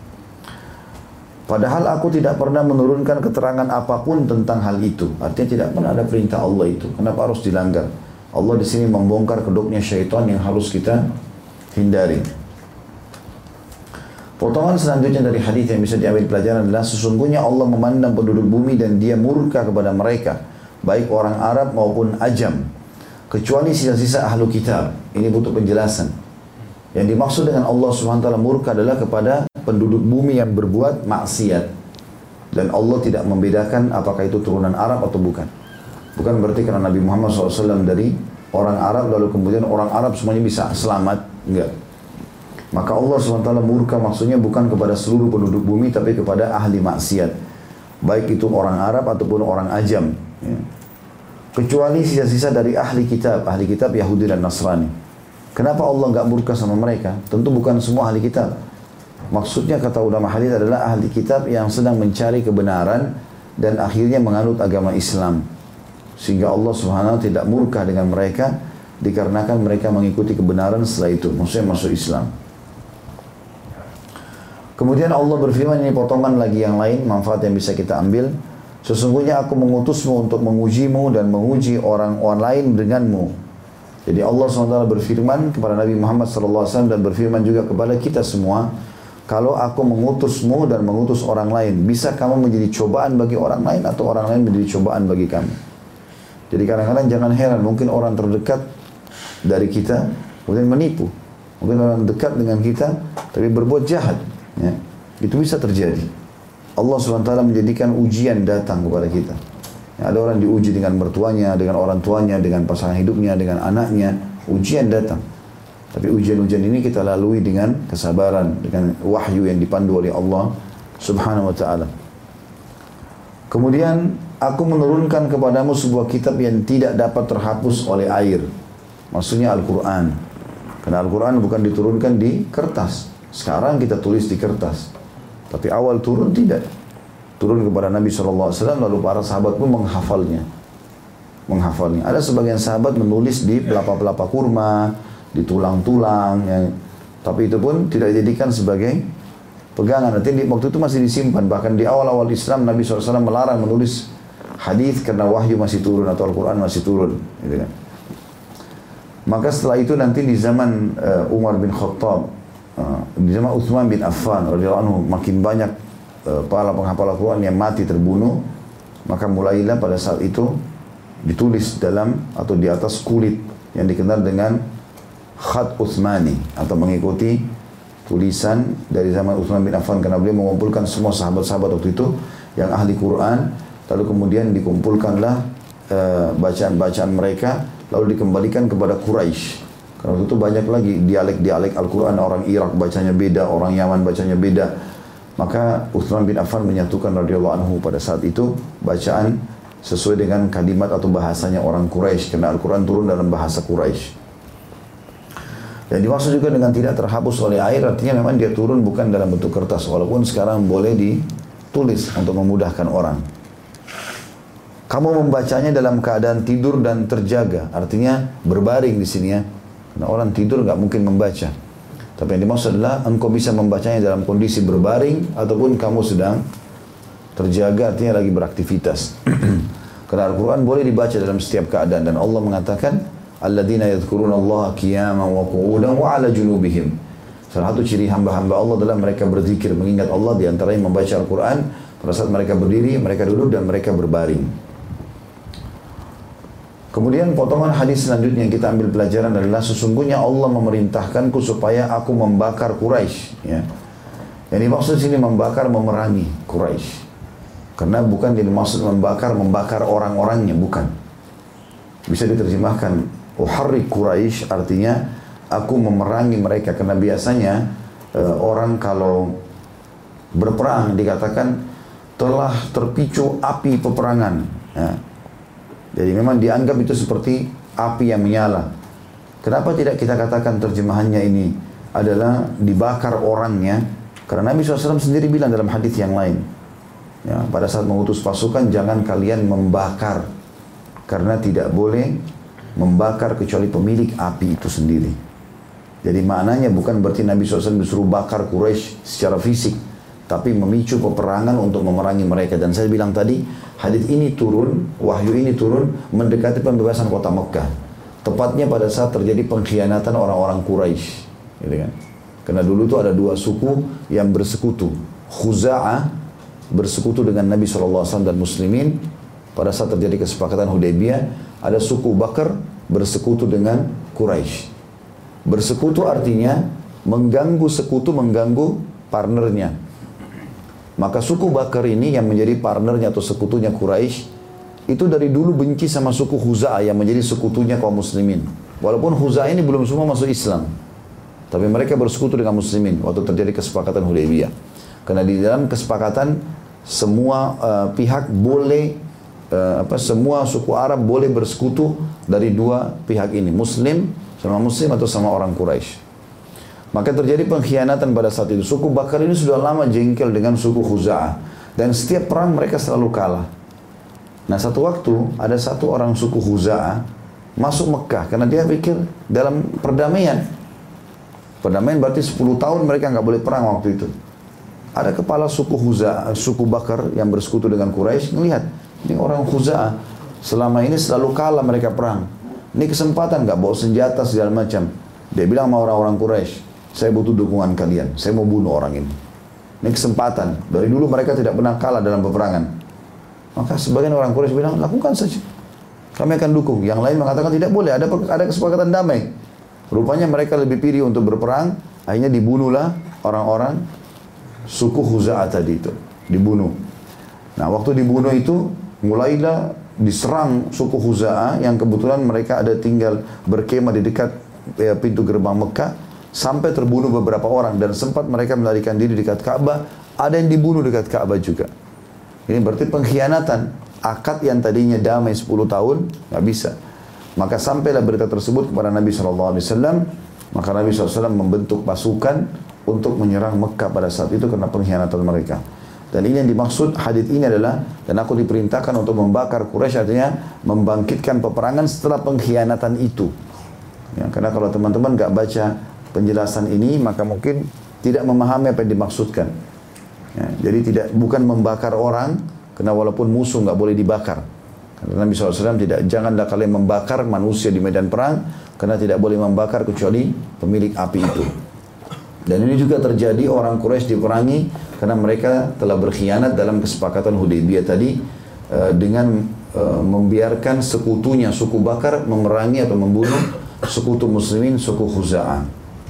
Padahal aku tidak pernah menurunkan keterangan apapun tentang hal itu. Artinya tidak pernah ada perintah Allah itu. Kenapa harus dilanggar? Allah di sini membongkar kedoknya syaitan yang harus kita hindari. Potongan selanjutnya dari hadis yang bisa diambil pelajaran adalah sesungguhnya Allah memandang penduduk bumi dan dia murka kepada mereka, baik orang Arab maupun Ajam, kecuali sisa-sisa ahlu kitab. Ini butuh penjelasan. Yang dimaksud dengan Allah subhanahu wa taala murka adalah kepada penduduk bumi yang berbuat maksiat. Dan Allah tidak membedakan apakah itu turunan Arab atau bukan. Bukan berarti karena Nabi Muhammad shallallahu alaihi wasallam dari orang Arab lalu kemudian orang Arab semuanya bisa selamat. Enggak. Maka Allah subhanahu wa taala murka maksudnya bukan kepada seluruh penduduk bumi tapi kepada ahli maksiat. Baik itu orang Arab ataupun orang Ajam. Ya. Kecuali sisa-sisa dari ahli kitab. Ahli kitab Yahudi dan Nasrani. Kenapa Allah enggak murka sama mereka? Tentu bukan semua ahli kitab. Maksudnya kata ulama hadis adalah ahli kitab yang sedang mencari kebenaran dan akhirnya menganut agama Islam. Sehingga Allah subhanahu wa taala tidak murka dengan mereka dikarenakan mereka mengikuti kebenaran setelah itu. Maksudnya masuk Islam. Kemudian Allah berfirman, ini potongan lagi yang lain, manfaat yang bisa kita ambil. Sesungguhnya aku mengutusmu untuk mengujimu dan menguji orang-orang lain denganmu. Jadi Allah subhanahu wa taala berfirman kepada Nabi Muhammad shallallahu alaihi wasallam dan berfirman juga kepada kita semua, kalau aku mengutusmu dan mengutus orang lain, bisa kamu menjadi cobaan bagi orang lain atau orang lain menjadi cobaan bagi kami. Jadi kadang-kadang jangan heran, mungkin orang terdekat dari kita kemudian menipu. Mungkin orang dekat dengan kita tapi berbuat jahat. Ya. Itu bisa terjadi. Allah subhanahu wa taala menjadikan ujian datang kepada kita. Ya, ada orang diuji dengan mertuanya, dengan orang tuanya, dengan pasangan hidupnya, dengan anaknya. Ujian datang. Tapi ujian-ujian ini kita lalui dengan kesabaran, dengan wahyu yang dipandu oleh Allah subhanahu wa ta'ala. Kemudian, aku menurunkan kepadamu sebuah kitab yang tidak dapat terhapus oleh air. Maksudnya Al-Quran. Karena Al-Quran bukan diturunkan di kertas. Sekarang kita tulis di kertas. Tapi awal turun tidak. Turun kepada Nabi shallallahu alaihi wasallam, lalu para sahabat pun menghafalnya. Menghafalnya. Ada sebagian sahabat menulis di pelapa-pelapa kurma, di tulang-tulang. Ya. Tapi itu pun tidak dijadikan sebagai pegangan. Nanti di, waktu itu masih disimpan. Bahkan di awal-awal Islam, Nabi shallallahu alaihi wasallam melarang menulis hadis karena wahyu masih turun atau Al-Quran masih turun. Gitu kan. Maka setelah itu nanti di zaman uh, Umar bin Khattab, uh, di zaman Utsman bin Affan radhiyallahu anhu, makin banyak uh, para penghafal Al-Quran yang mati terbunuh. Maka mulailah pada saat itu ditulis dalam atau di atas kulit yang dikenal dengan khat Utsmani, atau mengikuti tulisan dari zaman Utsman bin Affan, karena beliau mengumpulkan semua sahabat-sahabat waktu itu yang ahli Quran, lalu kemudian dikumpulkanlah uh, bacaan-bacaan mereka, lalu dikembalikan kepada Quraisy. Karena waktu itu banyak lagi dialek-dialek Al-Quran, orang Irak bacanya beda, orang Yaman bacanya beda. Maka Utsman bin Affan menyatukan radhiyallahu anhu pada saat itu bacaan sesuai dengan kalimat atau bahasanya orang Quraisy, karena Al-Quran turun dalam bahasa Quraisy. Dan dimaksud juga dengan tidak terhapus oleh air, artinya memang dia turun bukan dalam bentuk kertas, walaupun sekarang boleh ditulis untuk memudahkan orang. Kamu membacanya dalam keadaan tidur dan terjaga, artinya berbaring di sini ya. Karena orang tidur nggak mungkin membaca. Tapi yang dimaksud adalah engkau bisa membacanya dalam kondisi berbaring ataupun kamu sedang terjaga, artinya lagi beraktivitas. Karena Al-Quran boleh dibaca dalam setiap keadaan, dan Allah mengatakan alladzina yadhkuruna Allah qiyaman wa qu'udan wa 'ala junubihim. Salah satu ciri hamba-hamba Allah adalah mereka berzikir, mengingat Allah, di antaranya membaca Al-Quran pada saat mereka berdiri, mereka duduk, dan mereka berbaring. Kemudian potongan hadis selanjutnya yang kita ambil pelajaran adalah sesungguhnya Allah memerintahkanku supaya aku membakar Quraisy. Ya. Yang dimaksud sini membakar, memerangi Quraisy. Karena bukan dimaksud membakar, membakar orang-orangnya, bukan. Bisa diterjemahkan uharrik Quraisy, artinya aku memerangi mereka. Karena biasanya e, orang kalau berperang dikatakan telah terpicu api peperangan. Ya. Jadi memang dianggap itu seperti api yang menyala. Kenapa tidak kita katakan terjemahannya ini adalah dibakar orangnya? Karena Nabi shallallahu alaihi wasallam sendiri bilang dalam hadis yang lain, ya, pada saat mengutus pasukan jangan kalian membakar, karena tidak boleh membakar kecuali pemilik api itu sendiri. Jadi maknanya bukan berarti Nabi shallallahu alaihi wasallam disuruh bakar Quraisy secara fisik, tapi memicu peperangan untuk memerangi mereka. Dan saya bilang tadi, hadis ini turun, wahyu ini turun mendekati pembebasan kota Mekah. Tepatnya pada saat terjadi pengkhianatan orang-orang Quraisy, gitu kan? Karena dulu itu ada dua suku yang bersekutu. Khuza'ah bersekutu dengan Nabi shallallahu alaihi wasallam dan Muslimin pada saat terjadi kesepakatan Hudaybiyah. Ada suku Bakar bersekutu dengan Quraisy. Bersekutu artinya mengganggu sekutu, mengganggu partnernya. Maka suku Bakar ini yang menjadi partnernya atau sekutunya Quraisy itu dari dulu benci sama suku Khuza'ah yang menjadi sekutunya kaum muslimin. Walaupun Khuza'ah ini belum semua masuk Islam, tapi mereka bersekutu dengan muslimin waktu terjadi kesepakatan Hudaybiyah. Karena di dalam kesepakatan semua uh, pihak boleh uh, apa semua suku Arab boleh bersekutu dari dua pihak ini, Muslim sama Muslim atau sama orang Quraisy. Maka terjadi pengkhianatan pada saat itu. Suku Bakar ini sudah lama jengkel dengan suku Khuza'ah, dan setiap perang mereka selalu kalah. Nah, satu waktu ada satu orang suku Khuza'ah masuk Mekah karena dia pikir dalam perdamaian. Perdamaian berarti sepuluh tahun mereka nggak boleh perang waktu itu. Ada kepala suku Khuza'ah, suku Bakar yang bersekutu dengan Quraisy, melihat ini orang Khuza'ah selama ini selalu kalah mereka perang. Ini kesempatan, nggak bawa senjata segala macam. Dia bilang sama orang-orang Quraisy, saya butuh dukungan kalian, saya mau bunuh orang ini. Ini kesempatan. Dari dulu mereka tidak pernah kalah dalam peperangan. Maka sebagian orang Quraisy bilang, lakukan saja, kami akan dukung. Yang lain mengatakan tidak boleh, ada ada kesepakatan damai. Rupanya mereka lebih pilih untuk berperang. Akhirnya dibunuhlah orang-orang suku Khuza'ah tadi itu, dibunuh. Nah, waktu dibunuh itu mulailah diserang suku Khuza'ah yang kebetulan mereka ada tinggal berkemah di dekat ya, pintu gerbang Mekah, sampai terbunuh beberapa orang, dan sempat mereka melarikan diri dekat Ka'bah. Ada yang dibunuh dekat Ka'bah juga. Ini berarti pengkhianatan. Akad yang tadinya damai sepuluh tahun nggak bisa. Maka sampailah berita tersebut kepada Nabi shallallahu alaihi wasallam. Maka Nabi shallallahu alaihi wasallam membentuk pasukan untuk menyerang Mekah pada saat itu karena pengkhianatan mereka. Dan ini yang dimaksud hadits ini adalah, dan aku diperintahkan untuk membakar Quraisy, artinya membangkitkan peperangan setelah pengkhianatan itu. Ya, karena kalau teman-teman nggak baca penjelasan ini, maka mungkin tidak memahami apa yang dimaksudkan. Ya, jadi tidak bukan membakar orang, karena walaupun musuh nggak boleh dibakar. Karena Nabi shallallahu alaihi wasallam tidak, janganlah kalian membakar manusia di medan perang, karena tidak boleh membakar kecuali pemilik api itu. Dan ini juga terjadi, orang Quraisy diperangi karena mereka telah berkhianat dalam kesepakatan Hudaybiyah tadi uh, dengan uh, membiarkan sekutunya suku Bakar memerangi atau membunuh sekutu muslimin suku Khuza'ah.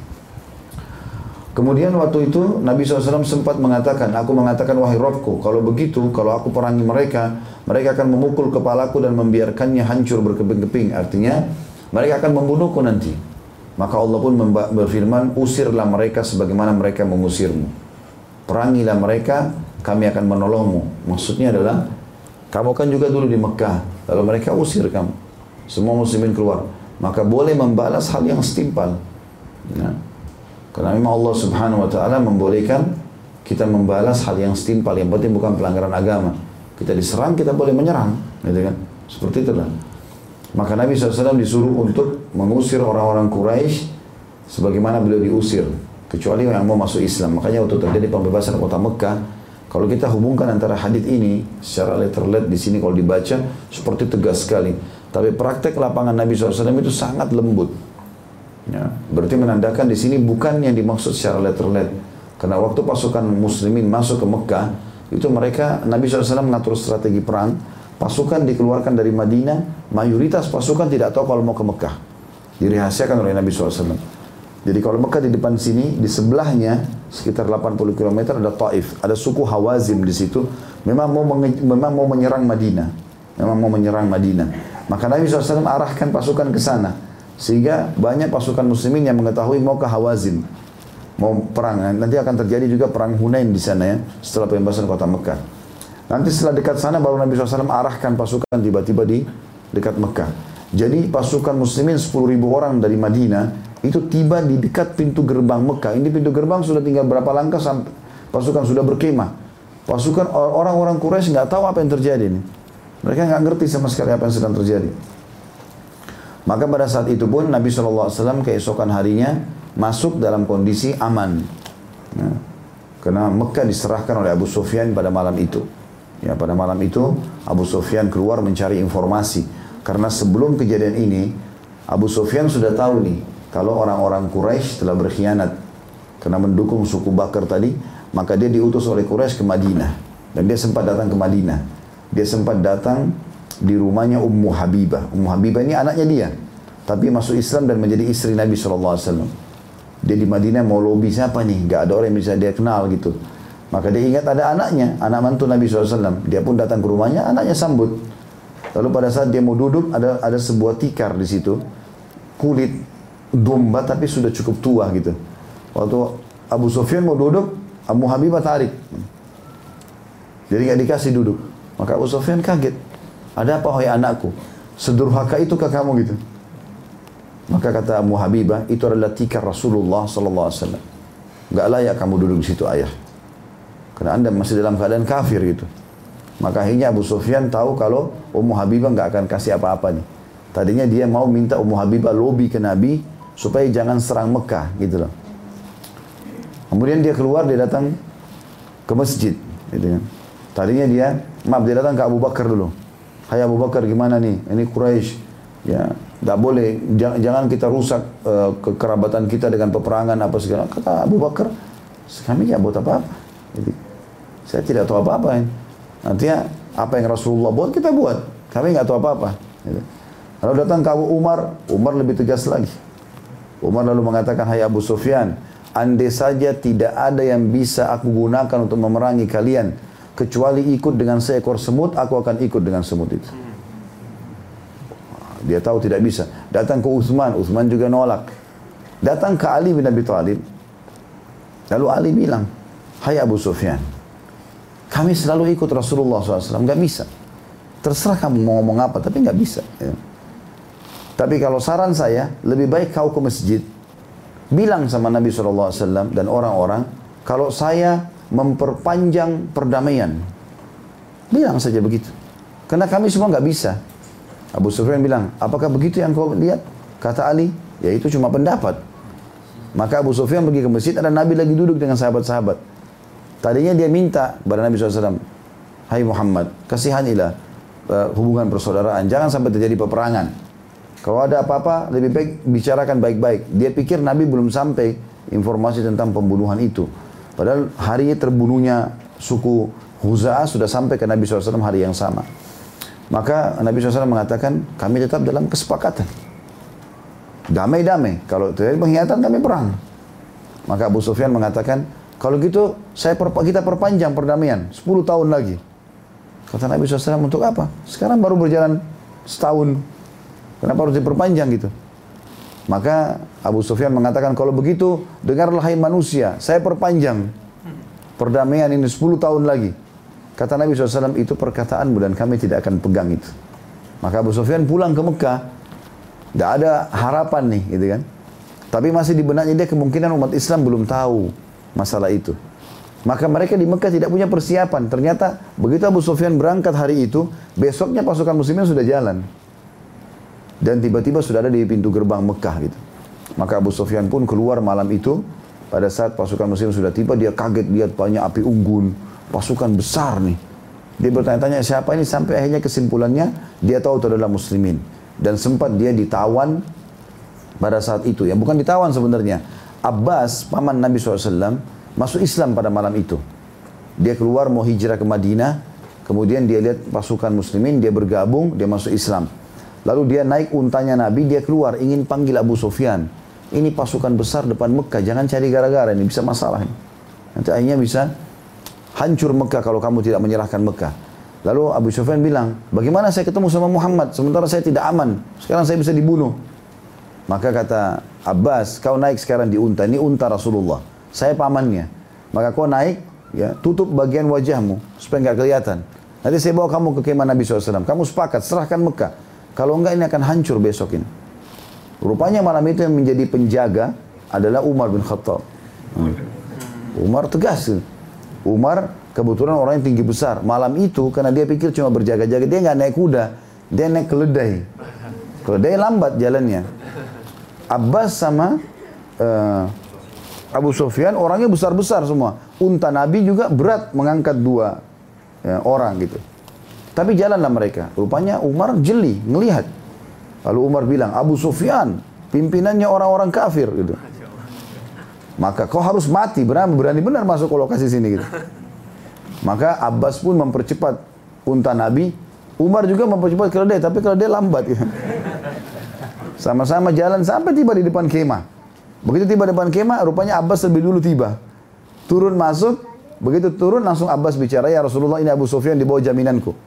Kemudian waktu itu Nabi shallallahu alaihi wasallam sempat mengatakan, aku mengatakan wahai Rabbku, kalau begitu, kalau aku perangi mereka, mereka akan memukul kepalaku dan membiarkannya hancur berkeping-keping. Artinya mereka akan membunuhku nanti. Maka Allah pun berfirman, usirlah mereka sebagaimana mereka mengusirmu. Perangilah mereka, kami akan menolongmu. Maksudnya adalah, kamu kan juga dulu di Mekah, lalu mereka usir kamu. Semua muslimin keluar. Maka boleh membalas hal yang setimpal. Ya. Karena memang Allah subhanahu wa ta'ala membolehkan kita membalas hal yang setimpal. Yang penting bukan pelanggaran agama. Kita diserang, kita boleh menyerang. Gitu kan? Seperti itulah. Maka Nabi shallallahu alaihi wasallam disuruh untuk mengusir orang-orang Quraisy sebagaimana beliau diusir, kecuali yang mau masuk Islam. Makanya waktu terjadi pembebasan kota Mekah, kalau kita hubungkan antara hadis ini secara letterlet di sini kalau dibaca seperti tegas sekali, tapi praktek lapangan Nabi shallallahu alaihi wasallam itu sangat lembut. Ya, berarti menandakan di sini bukan yang dimaksud secara letterlet. Karena waktu pasukan muslimin masuk ke Mekah, itu mereka Nabi shallallahu alaihi wasallam mengatur strategi perang. Pasukan dikeluarkan dari Madinah, mayoritas pasukan tidak tahu kalau mau ke Mekah. Dirahasiakan oleh Nabi shallallahu alaihi wasallam. Jadi kalau Mekah di depan sini, di sebelahnya sekitar delapan puluh kilometer ada Taif, ada suku Hawazim di situ. Memang mau memang mau menyerang Madinah, memang mau menyerang Madinah. Maka Nabi shallallahu alaihi wasallam arahkan pasukan ke sana, sehingga banyak pasukan muslimin yang mengetahui mau ke Hawazim, mau perang. Nanti akan terjadi juga perang Hunain di sana ya, setelah pembebasan kota Mekah. Nanti setelah dekat sana baru Nabi shallallahu alaihi wasallam arahkan pasukan tiba-tiba di dekat Mekah. Jadi pasukan muslimin sepuluh ribu orang dari Madinah itu tiba di dekat pintu gerbang Mekah. Ini pintu gerbang sudah tinggal berapa langkah sampai pasukan sudah berkemah. Pasukan orang-orang Quraisy nggak tahu apa yang terjadi ini. Mereka nggak ngerti sama sekali apa yang sedang terjadi. Maka pada saat itu pun Nabi shallallahu alaihi wasallam keesokan harinya masuk dalam kondisi aman. Ya. Karena Mekah diserahkan oleh Abu Sufyan pada malam itu. Ya, pada malam itu Abu Sufyan keluar mencari informasi. Karena sebelum kejadian ini Abu Sufyan sudah tahu nih kalau orang-orang Quraisy telah berkhianat karena mendukung suku Bakar tadi. Maka dia diutus oleh Quraisy ke Madinah. Dan dia sempat datang ke Madinah. Dia sempat datang di rumahnya Ummu Habibah. Ummu Habibah ini anaknya dia, tapi masuk Islam dan menjadi istri Nabi shallallahu alaihi wasallam. Dia di Madinah mau lobby siapa nih, gak ada orang yang bisa dia kenal gitu. Maka dia ingat ada anaknya, anak mantu Nabi shallallahu alaihi wasallam. Dia pun datang ke rumahnya, anaknya sambut. Lalu pada saat dia mau duduk, ada ada sebuah tikar di situ, kulit domba tapi sudah cukup tua gitu. Waktu Abu Sufyan mau duduk, Ummu Habibah tarik. Jadi nggak dikasih duduk. Maka Abu Sufyan kaget. Ada apa wahai anakku? Sedurhaka itu ke kamu gitu? Maka kata Ummu Habibah, itu adalah tikar Rasulullah sallallahu alaihi wasallam. Nggak layak kamu duduk di situ ayah. Karena anda masih dalam keadaan kafir gitu. Maka akhirnya Abu Sufyan tahu kalau Ummu Habibah nggak akan kasih apa-apa nih. Tadinya dia mau minta Ummu Habibah lobby ke Nabi supaya jangan serang Mekah gitu loh. Kemudian dia keluar, dia datang ke masjid gitu kan. Tadinya dia, maaf dia datang ke Abu Bakar dulu. Hai Abu Bakar, gimana nih? Ini Quraisy, ya, tidak boleh, jangan, jangan kita rusak uh, kekerabatan kita dengan peperangan apa segala. Kata Abu Bakar, kami nggak buat apa-apa. Jadi, saya tidak tahu apa-apa. Nantinya apa yang Rasulullah buat kita buat. Kami nggak tahu apa-apa. Gitu. Lalu datang ke Abu Umar, Umar lebih tegas lagi. Umar lalu mengatakan, hai Abu Sufyan, andai saja tidak ada yang bisa aku gunakan untuk memerangi kalian, kecuali ikut dengan seekor semut, aku akan ikut dengan semut itu. Dia tahu tidak bisa. Datang ke Utsman, Utsman juga nolak. Datang ke Ali bin Abi Thalib. Lalu Ali bilang, hai Abu Sufyan, kami selalu ikut Rasulullah shallallahu alaihi wasallam, nggak bisa. Terserah kamu mau ngomong apa, tapi nggak bisa. Ya. Tapi kalau saran saya, lebih baik kau ke masjid, bilang sama Nabi shallallahu alaihi wasallam dan orang-orang, kalau saya memperpanjang perdamaian. Bilang saja begitu. Karena kami semua nggak bisa. Abu Sufyan bilang, apakah begitu yang kau lihat? Kata Ali, ya itu cuma pendapat. Maka Abu Sufyan pergi ke masjid, ada Nabi lagi duduk dengan sahabat-sahabat. Tadinya dia minta kepada Nabi shallallahu alaihi wasallam, hai Muhammad, kasihanilah. uh, hubungan persaudaraan, jangan sampai terjadi peperangan. Kalau ada apa-apa, lebih baik bicarakan baik-baik. Dia pikir Nabi belum sampai informasi tentang pembunuhan itu. Padahal hari terbunuhnya suku Huza'ah sudah sampai ke Nabi shallallahu alaihi wasallam hari yang sama. Maka Nabi shallallahu alaihi wasallam mengatakan, kami tetap dalam kesepakatan. Damai-damai. Kalau terjadi pengkhianatan, kami perang. Maka Abu Sufyan mengatakan, kalau gitu saya perpa kita perpanjang perdamaian sepuluh tahun lagi. Kata Nabi shallallahu alaihi wasallam, untuk apa? Sekarang baru berjalan setahun. Kenapa harus diperpanjang gitu? Maka Abu Sufyan mengatakan, kalau begitu dengarlah hai manusia, saya perpanjang perdamaian ini sepuluh tahun lagi. Kata Nabi shallallahu alaihi wasallam, itu perkataanmu dan kami tidak akan pegang itu. Maka Abu Sufyan pulang ke Mekah. Tidak ada harapan nih gitu kan. Tapi masih di benaknya dia kemungkinan umat Islam belum tahu masalah itu. Maka mereka di Mekah tidak punya persiapan. Ternyata begitu Abu Sufyan berangkat hari itu, besoknya pasukan muslimin sudah jalan. Dan tiba-tiba sudah ada di pintu gerbang Mekah gitu. Maka Abu Sufyan pun keluar malam itu. Pada saat pasukan muslim sudah tiba, dia kaget lihat banyak api unggun. Pasukan besar nih. Dia bertanya-tanya siapa ini, sampai akhirnya kesimpulannya dia tahu itu adalah muslimin. Dan sempat dia ditawan pada saat itu. Ya bukan ditawan sebenarnya. Abbas, paman Nabi shallallahu alaihi wasallam, masuk Islam pada malam itu. Dia keluar mau hijrah ke Madinah. Kemudian dia lihat pasukan muslimin, dia bergabung, dia masuk Islam. Lalu dia naik untanya Nabi, dia keluar ingin panggil Abu Sufyan. Ini pasukan besar depan Mekah, jangan cari gara-gara, ini bisa masalah. Nanti akhirnya bisa hancur Mekah kalau kamu tidak menyerahkan Mekah. Lalu Abu Sufyan bilang, bagaimana saya ketemu sama Muhammad sementara saya tidak aman, sekarang saya bisa dibunuh. Maka kata Abbas, kau naik sekarang di unta, ini unta Rasulullah, saya pamannya. Maka kau naik, ya tutup bagian wajahmu supaya nggak kelihatan. Nanti saya bawa kamu ke kemah Nabi shallallahu alaihi wasallam, kamu sepakat serahkan Mekah. Kalau enggak ini akan hancur besok ini. Rupanya malam itu yang menjadi penjaga adalah Umar bin Khattab. Hmm. Umar tegas. Umar kebetulan orang yang tinggi besar. Malam itu karena dia pikir cuma berjaga-jaga, dia nggak naik kuda, dia naik keledai. Keledai lambat jalannya. Abbas sama uh, Abu Sufyan orangnya besar-besar semua. Unta Nabi juga berat mengangkat dua ya, orang gitu. Tapi jalanlah mereka. Rupanya Umar jeli, ngelihat. Lalu Umar bilang, Abu Sufyan, pimpinannya orang-orang kafir gitu. Maka kau harus mati, berani, berani benar masuk ke lokasi sini gitu. Maka Abbas pun mempercepat unta Nabi. Umar juga mempercepat keledai, tapi keledai lambat gitu. Sama-sama jalan sampai tiba di depan kemah. Begitu tiba di depan kemah, rupanya Abbas lebih dulu tiba. Turun masuk, begitu turun langsung Abbas bicara, ya Rasulullah ini Abu Sufyan di bawah jaminanku.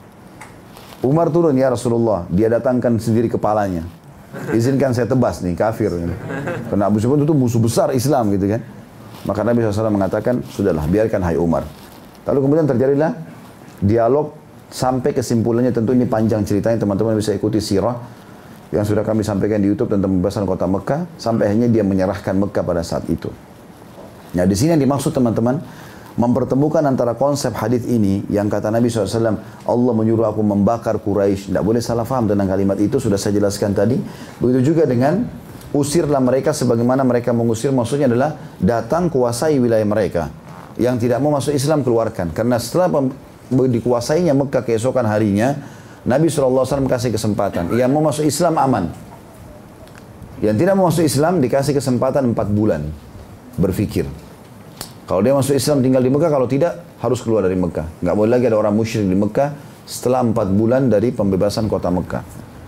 Umar turun, ya Rasulullah, dia datangkan sendiri kepalanya. Izinkan saya tebas nih, kafir. Gitu. Karena Abu Sufyan itu musuh besar Islam gitu kan. Maka Nabi shallallahu alaihi wasallam mengatakan, sudahlah biarkan hai Umar. Lalu kemudian terjadilah dialog sampai kesimpulannya, tentu ini panjang ceritanya, teman-teman bisa ikuti sirah yang sudah kami sampaikan di YouTube tentang pembebasan kota Mekah, sampai akhirnya dia menyerahkan Mekah pada saat itu. Nah di sini yang dimaksud teman-teman, mempertemukan antara konsep hadis ini yang kata Nabi shallallahu alaihi wasallam, Allah menyuruh aku membakar Quraisy. Tidak boleh salah faham tentang kalimat itu, sudah saya jelaskan tadi. Begitu juga dengan usirlah mereka sebagaimana mereka mengusir, maksudnya adalah datang kuasai wilayah mereka. Yang tidak mau masuk Islam keluarkan. Karena setelah dikuasainya Mekah keesokan harinya, Nabi shallallahu alaihi wasallam kasih kesempatan. Yang mau masuk Islam aman. Yang tidak mau masuk Islam dikasih kesempatan empat bulan berfikir. Kalau dia masuk Islam tinggal di Mekah, kalau tidak harus keluar dari Mekah. Nggak boleh lagi ada orang musyrik di Mekah setelah empat bulan dari pembebasan kota Mekah.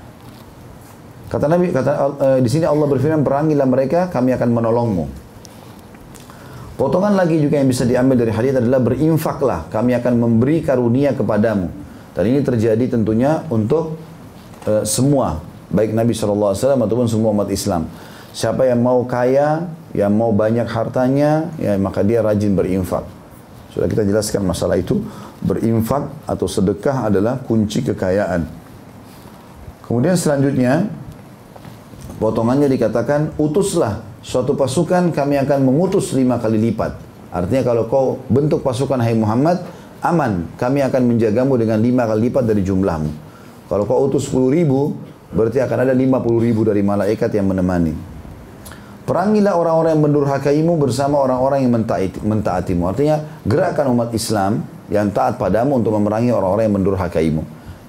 Kata Nabi, kata uh, di sini Allah berfirman, perangilah mereka, kami akan menolongmu. Potongan lagi juga yang bisa diambil dari hadis adalah berinfaklah, kami akan memberi karunia kepadamu. Dan ini terjadi tentunya untuk uh, semua, baik Nabi shallallahu alaihi wasallam ataupun semua umat Islam. Siapa yang mau kaya, yang mau banyak hartanya, ya maka dia rajin berinfak. Sudah kita jelaskan masalah itu. Berinfak atau sedekah adalah kunci kekayaan. Kemudian selanjutnya, potongannya dikatakan, utuslah suatu pasukan, kami akan mengutus lima kali lipat. Artinya kalau kau bentuk pasukan, hai Muhammad, aman, kami akan menjagamu dengan lima kali lipat dari jumlahmu. Kalau kau utus sepuluh ribu, berarti akan ada lima puluh ribu dari malaikat yang menemani. Perangilah orang-orang yang mendurhakaimu bersama orang-orang yang mentaati, mentaatimu. Artinya, gerakkan umat Islam yang taat padamu untuk memerangi orang-orang yang mendurhakaimu.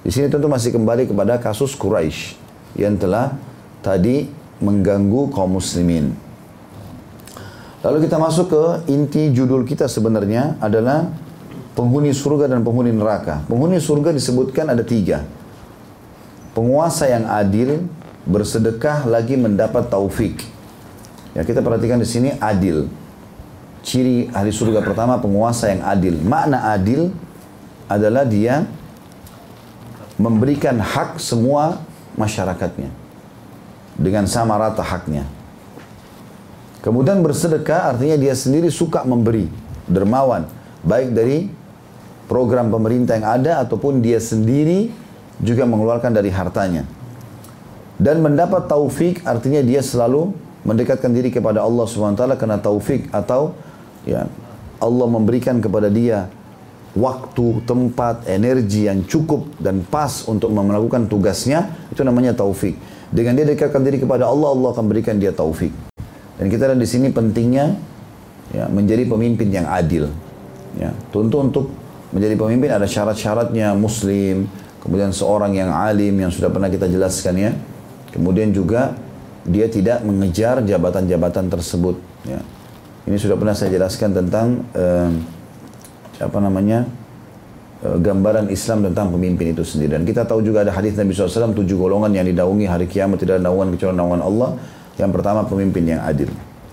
Di sini tentu masih kembali kepada kasus Quraisy yang telah tadi mengganggu kaum muslimin. Lalu kita masuk ke inti judul kita sebenarnya adalah penghuni surga dan penghuni neraka. Penghuni surga disebutkan ada tiga. Penguasa yang adil, bersedekah lagi mendapat taufik. Ya, kita perhatikan di sini adil. Ciri ahli surga pertama penguasa yang adil. Makna adil adalah dia memberikan hak semua masyarakatnya dengan sama rata haknya. Kemudian bersedekah artinya dia sendiri suka memberi, dermawan, baik dari program pemerintah yang ada ataupun dia sendiri juga mengeluarkan dari hartanya. Dan mendapat taufik artinya dia selalu mendekatkan diri kepada Allah subhanahu wa taala karena taufik atau ya Allah memberikan kepada dia waktu, tempat, energi yang cukup dan pas untuk melakukan tugasnya, itu namanya taufik. Dengan dia dekatkan diri kepada Allah, Allah akan berikan dia taufik. Dan kita lihat di sini pentingnya ya, menjadi pemimpin yang adil. Ya, tentu untuk menjadi pemimpin ada syarat-syaratnya, muslim, kemudian seorang yang alim yang sudah pernah kita jelaskan ya. Kemudian juga dia tidak mengejar jabatan-jabatan tersebut. Ya. Ini sudah pernah saya jelaskan tentang eh, apa namanya e, gambaran Islam tentang pemimpin itu sendiri. Dan kita tahu juga ada hadis Nabi shallallahu alaihi wasallam tujuh golongan yang didaungi hari kiamat tidak ada naungan kecuali naungan Allah. Yang pertama pemimpin yang adil.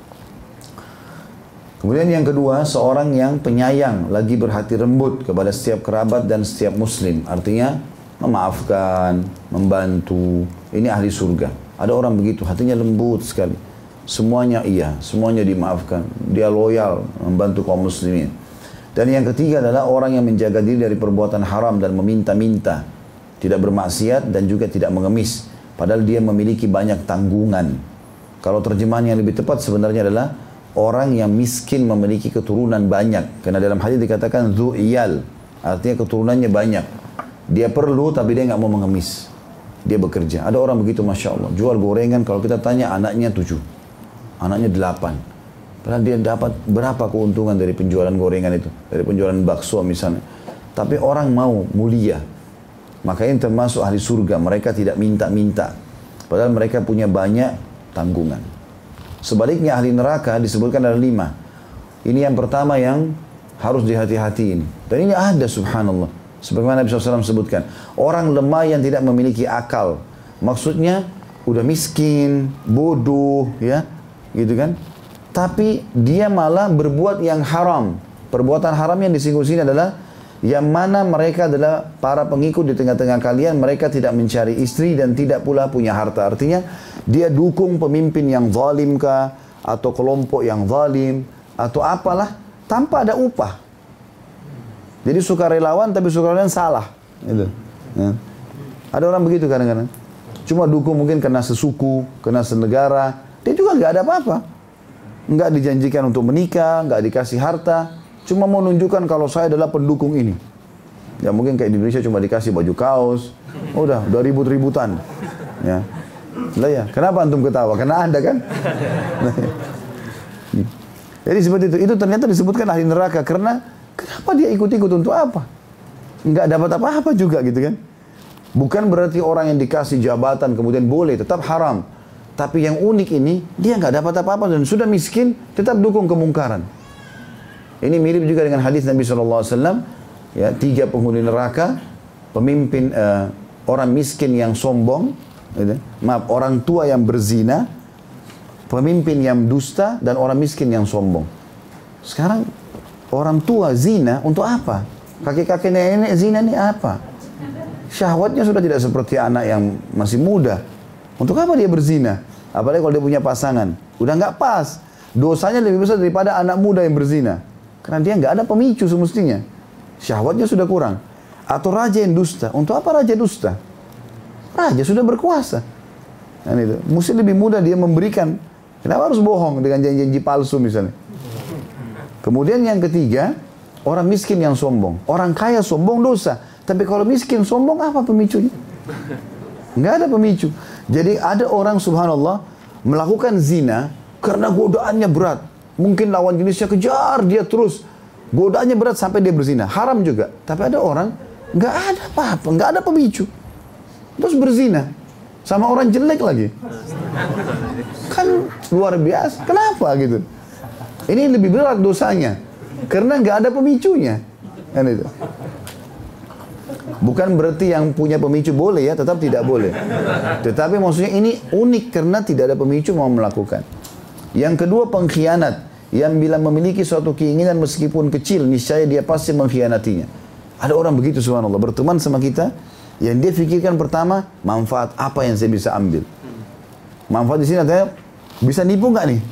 Kemudian yang kedua seorang yang penyayang lagi berhati lembut kepada setiap kerabat dan setiap muslim. Artinya memaafkan, membantu. Ini ahli surga. Ada orang begitu hatinya lembut sekali. Semuanya iya, semuanya dimaafkan. Dia loyal membantu kaum muslimin. Dan yang ketiga adalah orang yang menjaga diri dari perbuatan haram dan meminta-minta. Tidak bermaksiat dan juga tidak mengemis. Padahal dia memiliki banyak tanggungan. Kalau terjemahan yang lebih tepat sebenarnya adalah orang yang miskin memiliki keturunan banyak. Karena dalam hadis dikatakan zu iyal. Artinya keturunannya banyak. Dia perlu tapi dia nggak mau mengemis. Dia bekerja. Ada orang begitu Masya Allah. Jual gorengan kalau kita tanya anaknya tujuh. Anaknya delapan. Padahal dia dapat berapa keuntungan dari penjualan gorengan itu. Dari penjualan bakso misalnya. Tapi orang mau mulia. Makanya termasuk ahli surga. Mereka tidak minta-minta. Padahal mereka punya banyak tanggungan. Sebaliknya ahli neraka disebutkan ada lima. Ini yang pertama yang harus dihati-hatiin. Dan ini ada subhanallah. Sebagaimana Nabi shallallahu alaihi wasallam sebutkan. Orang lemah yang tidak memiliki akal. Maksudnya udah miskin, bodoh ya. Gitu kan. Tapi dia malah berbuat yang haram. Perbuatan haram yang disinggung sini adalah yang mana mereka adalah para pengikut di tengah-tengah kalian, mereka tidak mencari istri dan tidak pula punya harta. Artinya dia dukung pemimpin yang zalim kah, atau kelompok yang zalim, atau apalah, tanpa ada upah. Jadi sukarelawan tapi sukarelawan salah. Gitu. Ya. Ada orang begitu kadang-kadang. Cuma dukung mungkin karena sesuku, karena senegara. Dia juga nggak ada apa-apa. Nggak dijanjikan untuk menikah, nggak dikasih harta, cuma mau menunjukkan kalau saya adalah pendukung ini. Ya mungkin kayak di Indonesia cuma dikasih baju kaos, udah, udah ribut-ributan. Ya, lah ya. Kenapa antum ketawa? Karena Anda kan. Nah, ya. Jadi seperti itu. Itu ternyata disebutkan ahli neraka karena kenapa dia ikut-ikut untuk apa? Nggak dapat apa-apa juga gitu kan? Bukan berarti orang yang dikasih jabatan kemudian boleh, tetap haram. Tapi yang unik ini, dia nggak dapat apa-apa dan sudah miskin, tetap dukung kemungkaran. Ini mirip juga dengan hadis Nabi shallallahu alaihi wasallam, ya, tiga penghuni neraka, pemimpin uh, orang miskin yang sombong, gitu. Maaf, orang tua yang berzina, pemimpin yang dusta, dan orang miskin yang sombong. Sekarang orang tua zina untuk apa? Kakek-kakek nenek zina ini apa? Syahwatnya sudah tidak seperti anak yang masih muda. Untuk apa dia berzina? Apalagi kalau dia punya pasangan. Udah nggak pas. Dosanya lebih besar daripada anak muda yang berzina. Karena dia nggak ada pemicu semestinya. Syahwatnya sudah kurang. Atau raja yang dusta. Untuk apa raja dusta? Raja sudah berkuasa. Dan itu. Mesti lebih mudah dia memberikan. Kenapa harus bohong dengan janji-janji palsu misalnya? Kemudian yang ketiga, orang miskin yang sombong. Orang kaya sombong dosa. Tapi kalau miskin sombong apa pemicunya? Nggak ada pemicu. Jadi ada orang subhanallah melakukan zina karena godaannya berat. Mungkin lawan jenisnya kejar dia terus. Godaannya berat sampai dia berzina. Haram juga. Tapi ada orang Nggak ada apa-apa, nggak ada pemicu. Terus berzina sama orang jelek lagi. Kan luar biasa. Kenapa gitu? Ini lebih berat dosanya karena nggak ada pemicunya. Kan itu. Bukan berarti yang punya pemicu boleh ya, tetap tidak boleh. Tetapi maksudnya ini unik karena tidak ada pemicu mau melakukan. Yang kedua, pengkhianat. Yang bila memiliki suatu keinginan meskipun kecil, niscaya dia pasti mengkhianatinya. Ada orang begitu subhanallah, berteman sama kita, yang dia fikirkan pertama, manfaat apa yang saya bisa ambil. Manfaat di sini artinya, bisa nipu nggak nih?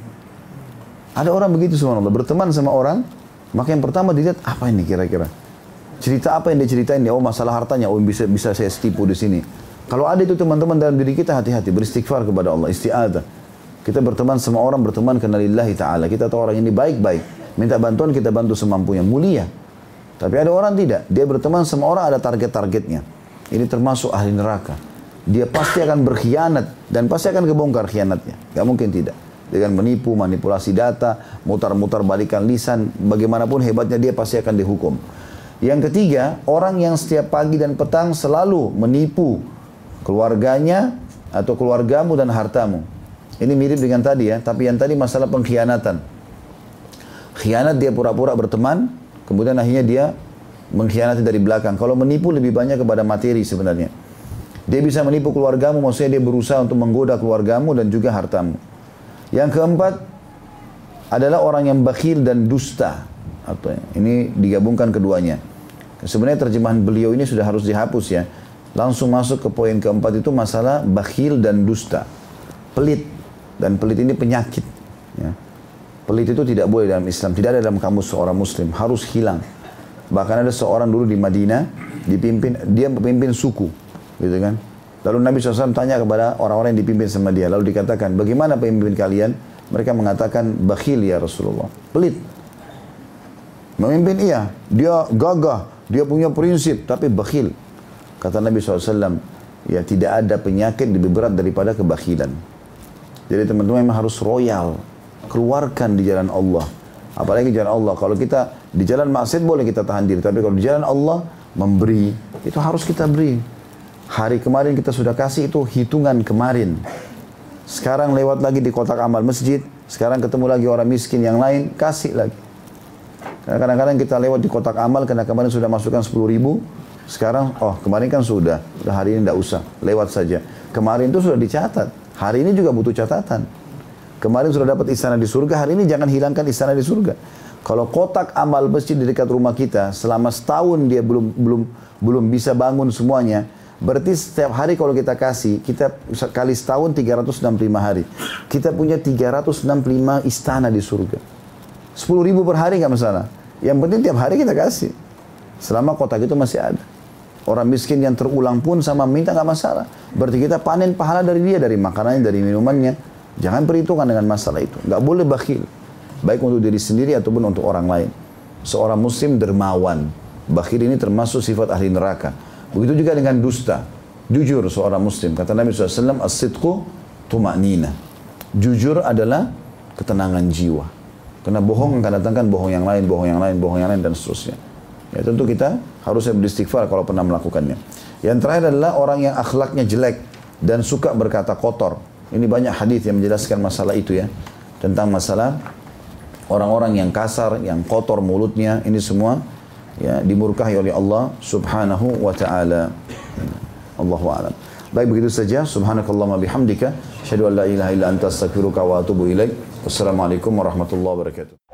Ada orang begitu subhanallah, berteman sama orang, maka yang pertama dilihat, apa ini kira-kira? Cerita apa yang dia ceritain dia? Oh masalah hartanya, oh bisa bisa saya tipu di sini. Kalau ada itu teman-teman dalam diri kita, hati-hati, beristighfar kepada Allah, isti'adzah. Kita berteman sama orang, berteman karena lillahi ta'ala. Kita tahu orang ini baik-baik, minta bantuan kita bantu semampunya, mulia. Tapi ada orang tidak, dia berteman sama orang ada target-targetnya. Ini termasuk ahli neraka. Dia pasti akan berkhianat dan pasti akan kebongkar khianatnya. Gak mungkin tidak. Dengan menipu, manipulasi data, mutar-mutar balikan lisan, bagaimanapun hebatnya dia pasti akan dihukum. Yang ketiga, orang yang setiap pagi dan petang selalu menipu keluarganya atau keluargamu dan hartamu. Ini mirip dengan tadi ya, tapi yang tadi masalah pengkhianatan. Khianat dia pura-pura berteman, kemudian akhirnya dia mengkhianati dari belakang. Kalau menipu lebih banyak kepada materi sebenarnya. Dia bisa menipu keluargamu, maksudnya dia berusaha untuk menggoda keluargamu dan juga hartamu. Yang keempat adalah orang yang bakhil dan dusta. Atau ini digabungkan keduanya. Sebenarnya terjemahan beliau ini sudah harus dihapus ya. Langsung masuk ke poin keempat itu masalah bakhil dan dusta. Pelit. Dan pelit ini penyakit. Ya. Pelit itu tidak boleh dalam Islam. Tidak ada dalam kamus seorang muslim. Harus hilang. Bahkan ada seorang dulu di Madinah. Dipimpin, dia memimpin suku. Gitu kan. Lalu Nabi shallallahu alaihi wasallam tanya kepada orang-orang yang dipimpin sama dia. Lalu dikatakan, bagaimana pemimpin kalian? Mereka mengatakan, bakhil ya Rasulullah. Pelit. Memimpin iya, dia gagah, dia punya prinsip, tapi bakhil. Kata Nabi shallallahu alaihi wasallam, ya tidak ada penyakit lebih berat daripada kebakhilan. Jadi teman-teman memang harus royal, keluarkan di jalan Allah. Apalagi jalan Allah, kalau kita di jalan maksiat boleh kita tahan diri, tapi kalau di jalan Allah, memberi, itu harus kita beri. Hari kemarin kita sudah kasih itu hitungan kemarin. Sekarang lewat lagi di kotak amal masjid, sekarang ketemu lagi orang miskin yang lain, kasih lagi. Karena kadang-kadang kita lewat di kotak amal, karena kemarin sudah masukkan sepuluh ribu, sekarang, oh kemarin kan sudah, udah hari ini tidak usah, lewat saja. Kemarin itu sudah dicatat, hari ini juga butuh catatan. Kemarin sudah dapat istana di surga, hari ini jangan hilangkan istana di surga. Kalau kotak amal masjid di dekat rumah kita, selama setahun dia belum belum belum bisa bangun semuanya, berarti setiap hari kalau kita kasih, kita kali setahun tiga ratus enam puluh lima hari. Kita punya tiga ratus enam puluh lima istana di surga. sepuluh ribu per hari nggak masalah. Yang penting tiap hari kita kasih. Selama kotak itu masih ada. Orang miskin yang terulang pun sama minta nggak masalah. Berarti kita panen pahala dari dia, dari makanannya, dari minumannya. Jangan perhitungan dengan masalah itu. Nggak boleh bakhil. Baik untuk diri sendiri ataupun untuk orang lain. Seorang muslim dermawan. Bakhil ini termasuk sifat ahli neraka. Begitu juga dengan dusta. Jujur seorang muslim. Kata Nabi shallallahu alaihi wasallam, as-sidqu tuma'nina. Jujur adalah ketenangan jiwa. Karena bohong akan datangkan bohong yang lain, bohong yang lain, bohong yang lain, dan seterusnya. Ya tentu kita harusnya beristighfar kalau pernah melakukannya. Yang terakhir adalah orang yang akhlaknya jelek dan suka berkata kotor. Ini banyak hadis yang menjelaskan masalah itu ya. Tentang masalah orang-orang yang kasar, yang kotor mulutnya, ini semua ya dimurkahi oleh Allah subhanahu wa ta'ala. Allahu a'lam. Baik, begitu saja. Subhanakallahumma bihamdika. Asyhadu an la ilaha illa anta astaghfiruka wa atubu ilaik. Wassalamualaikum warahmatullahi wabarakatuh.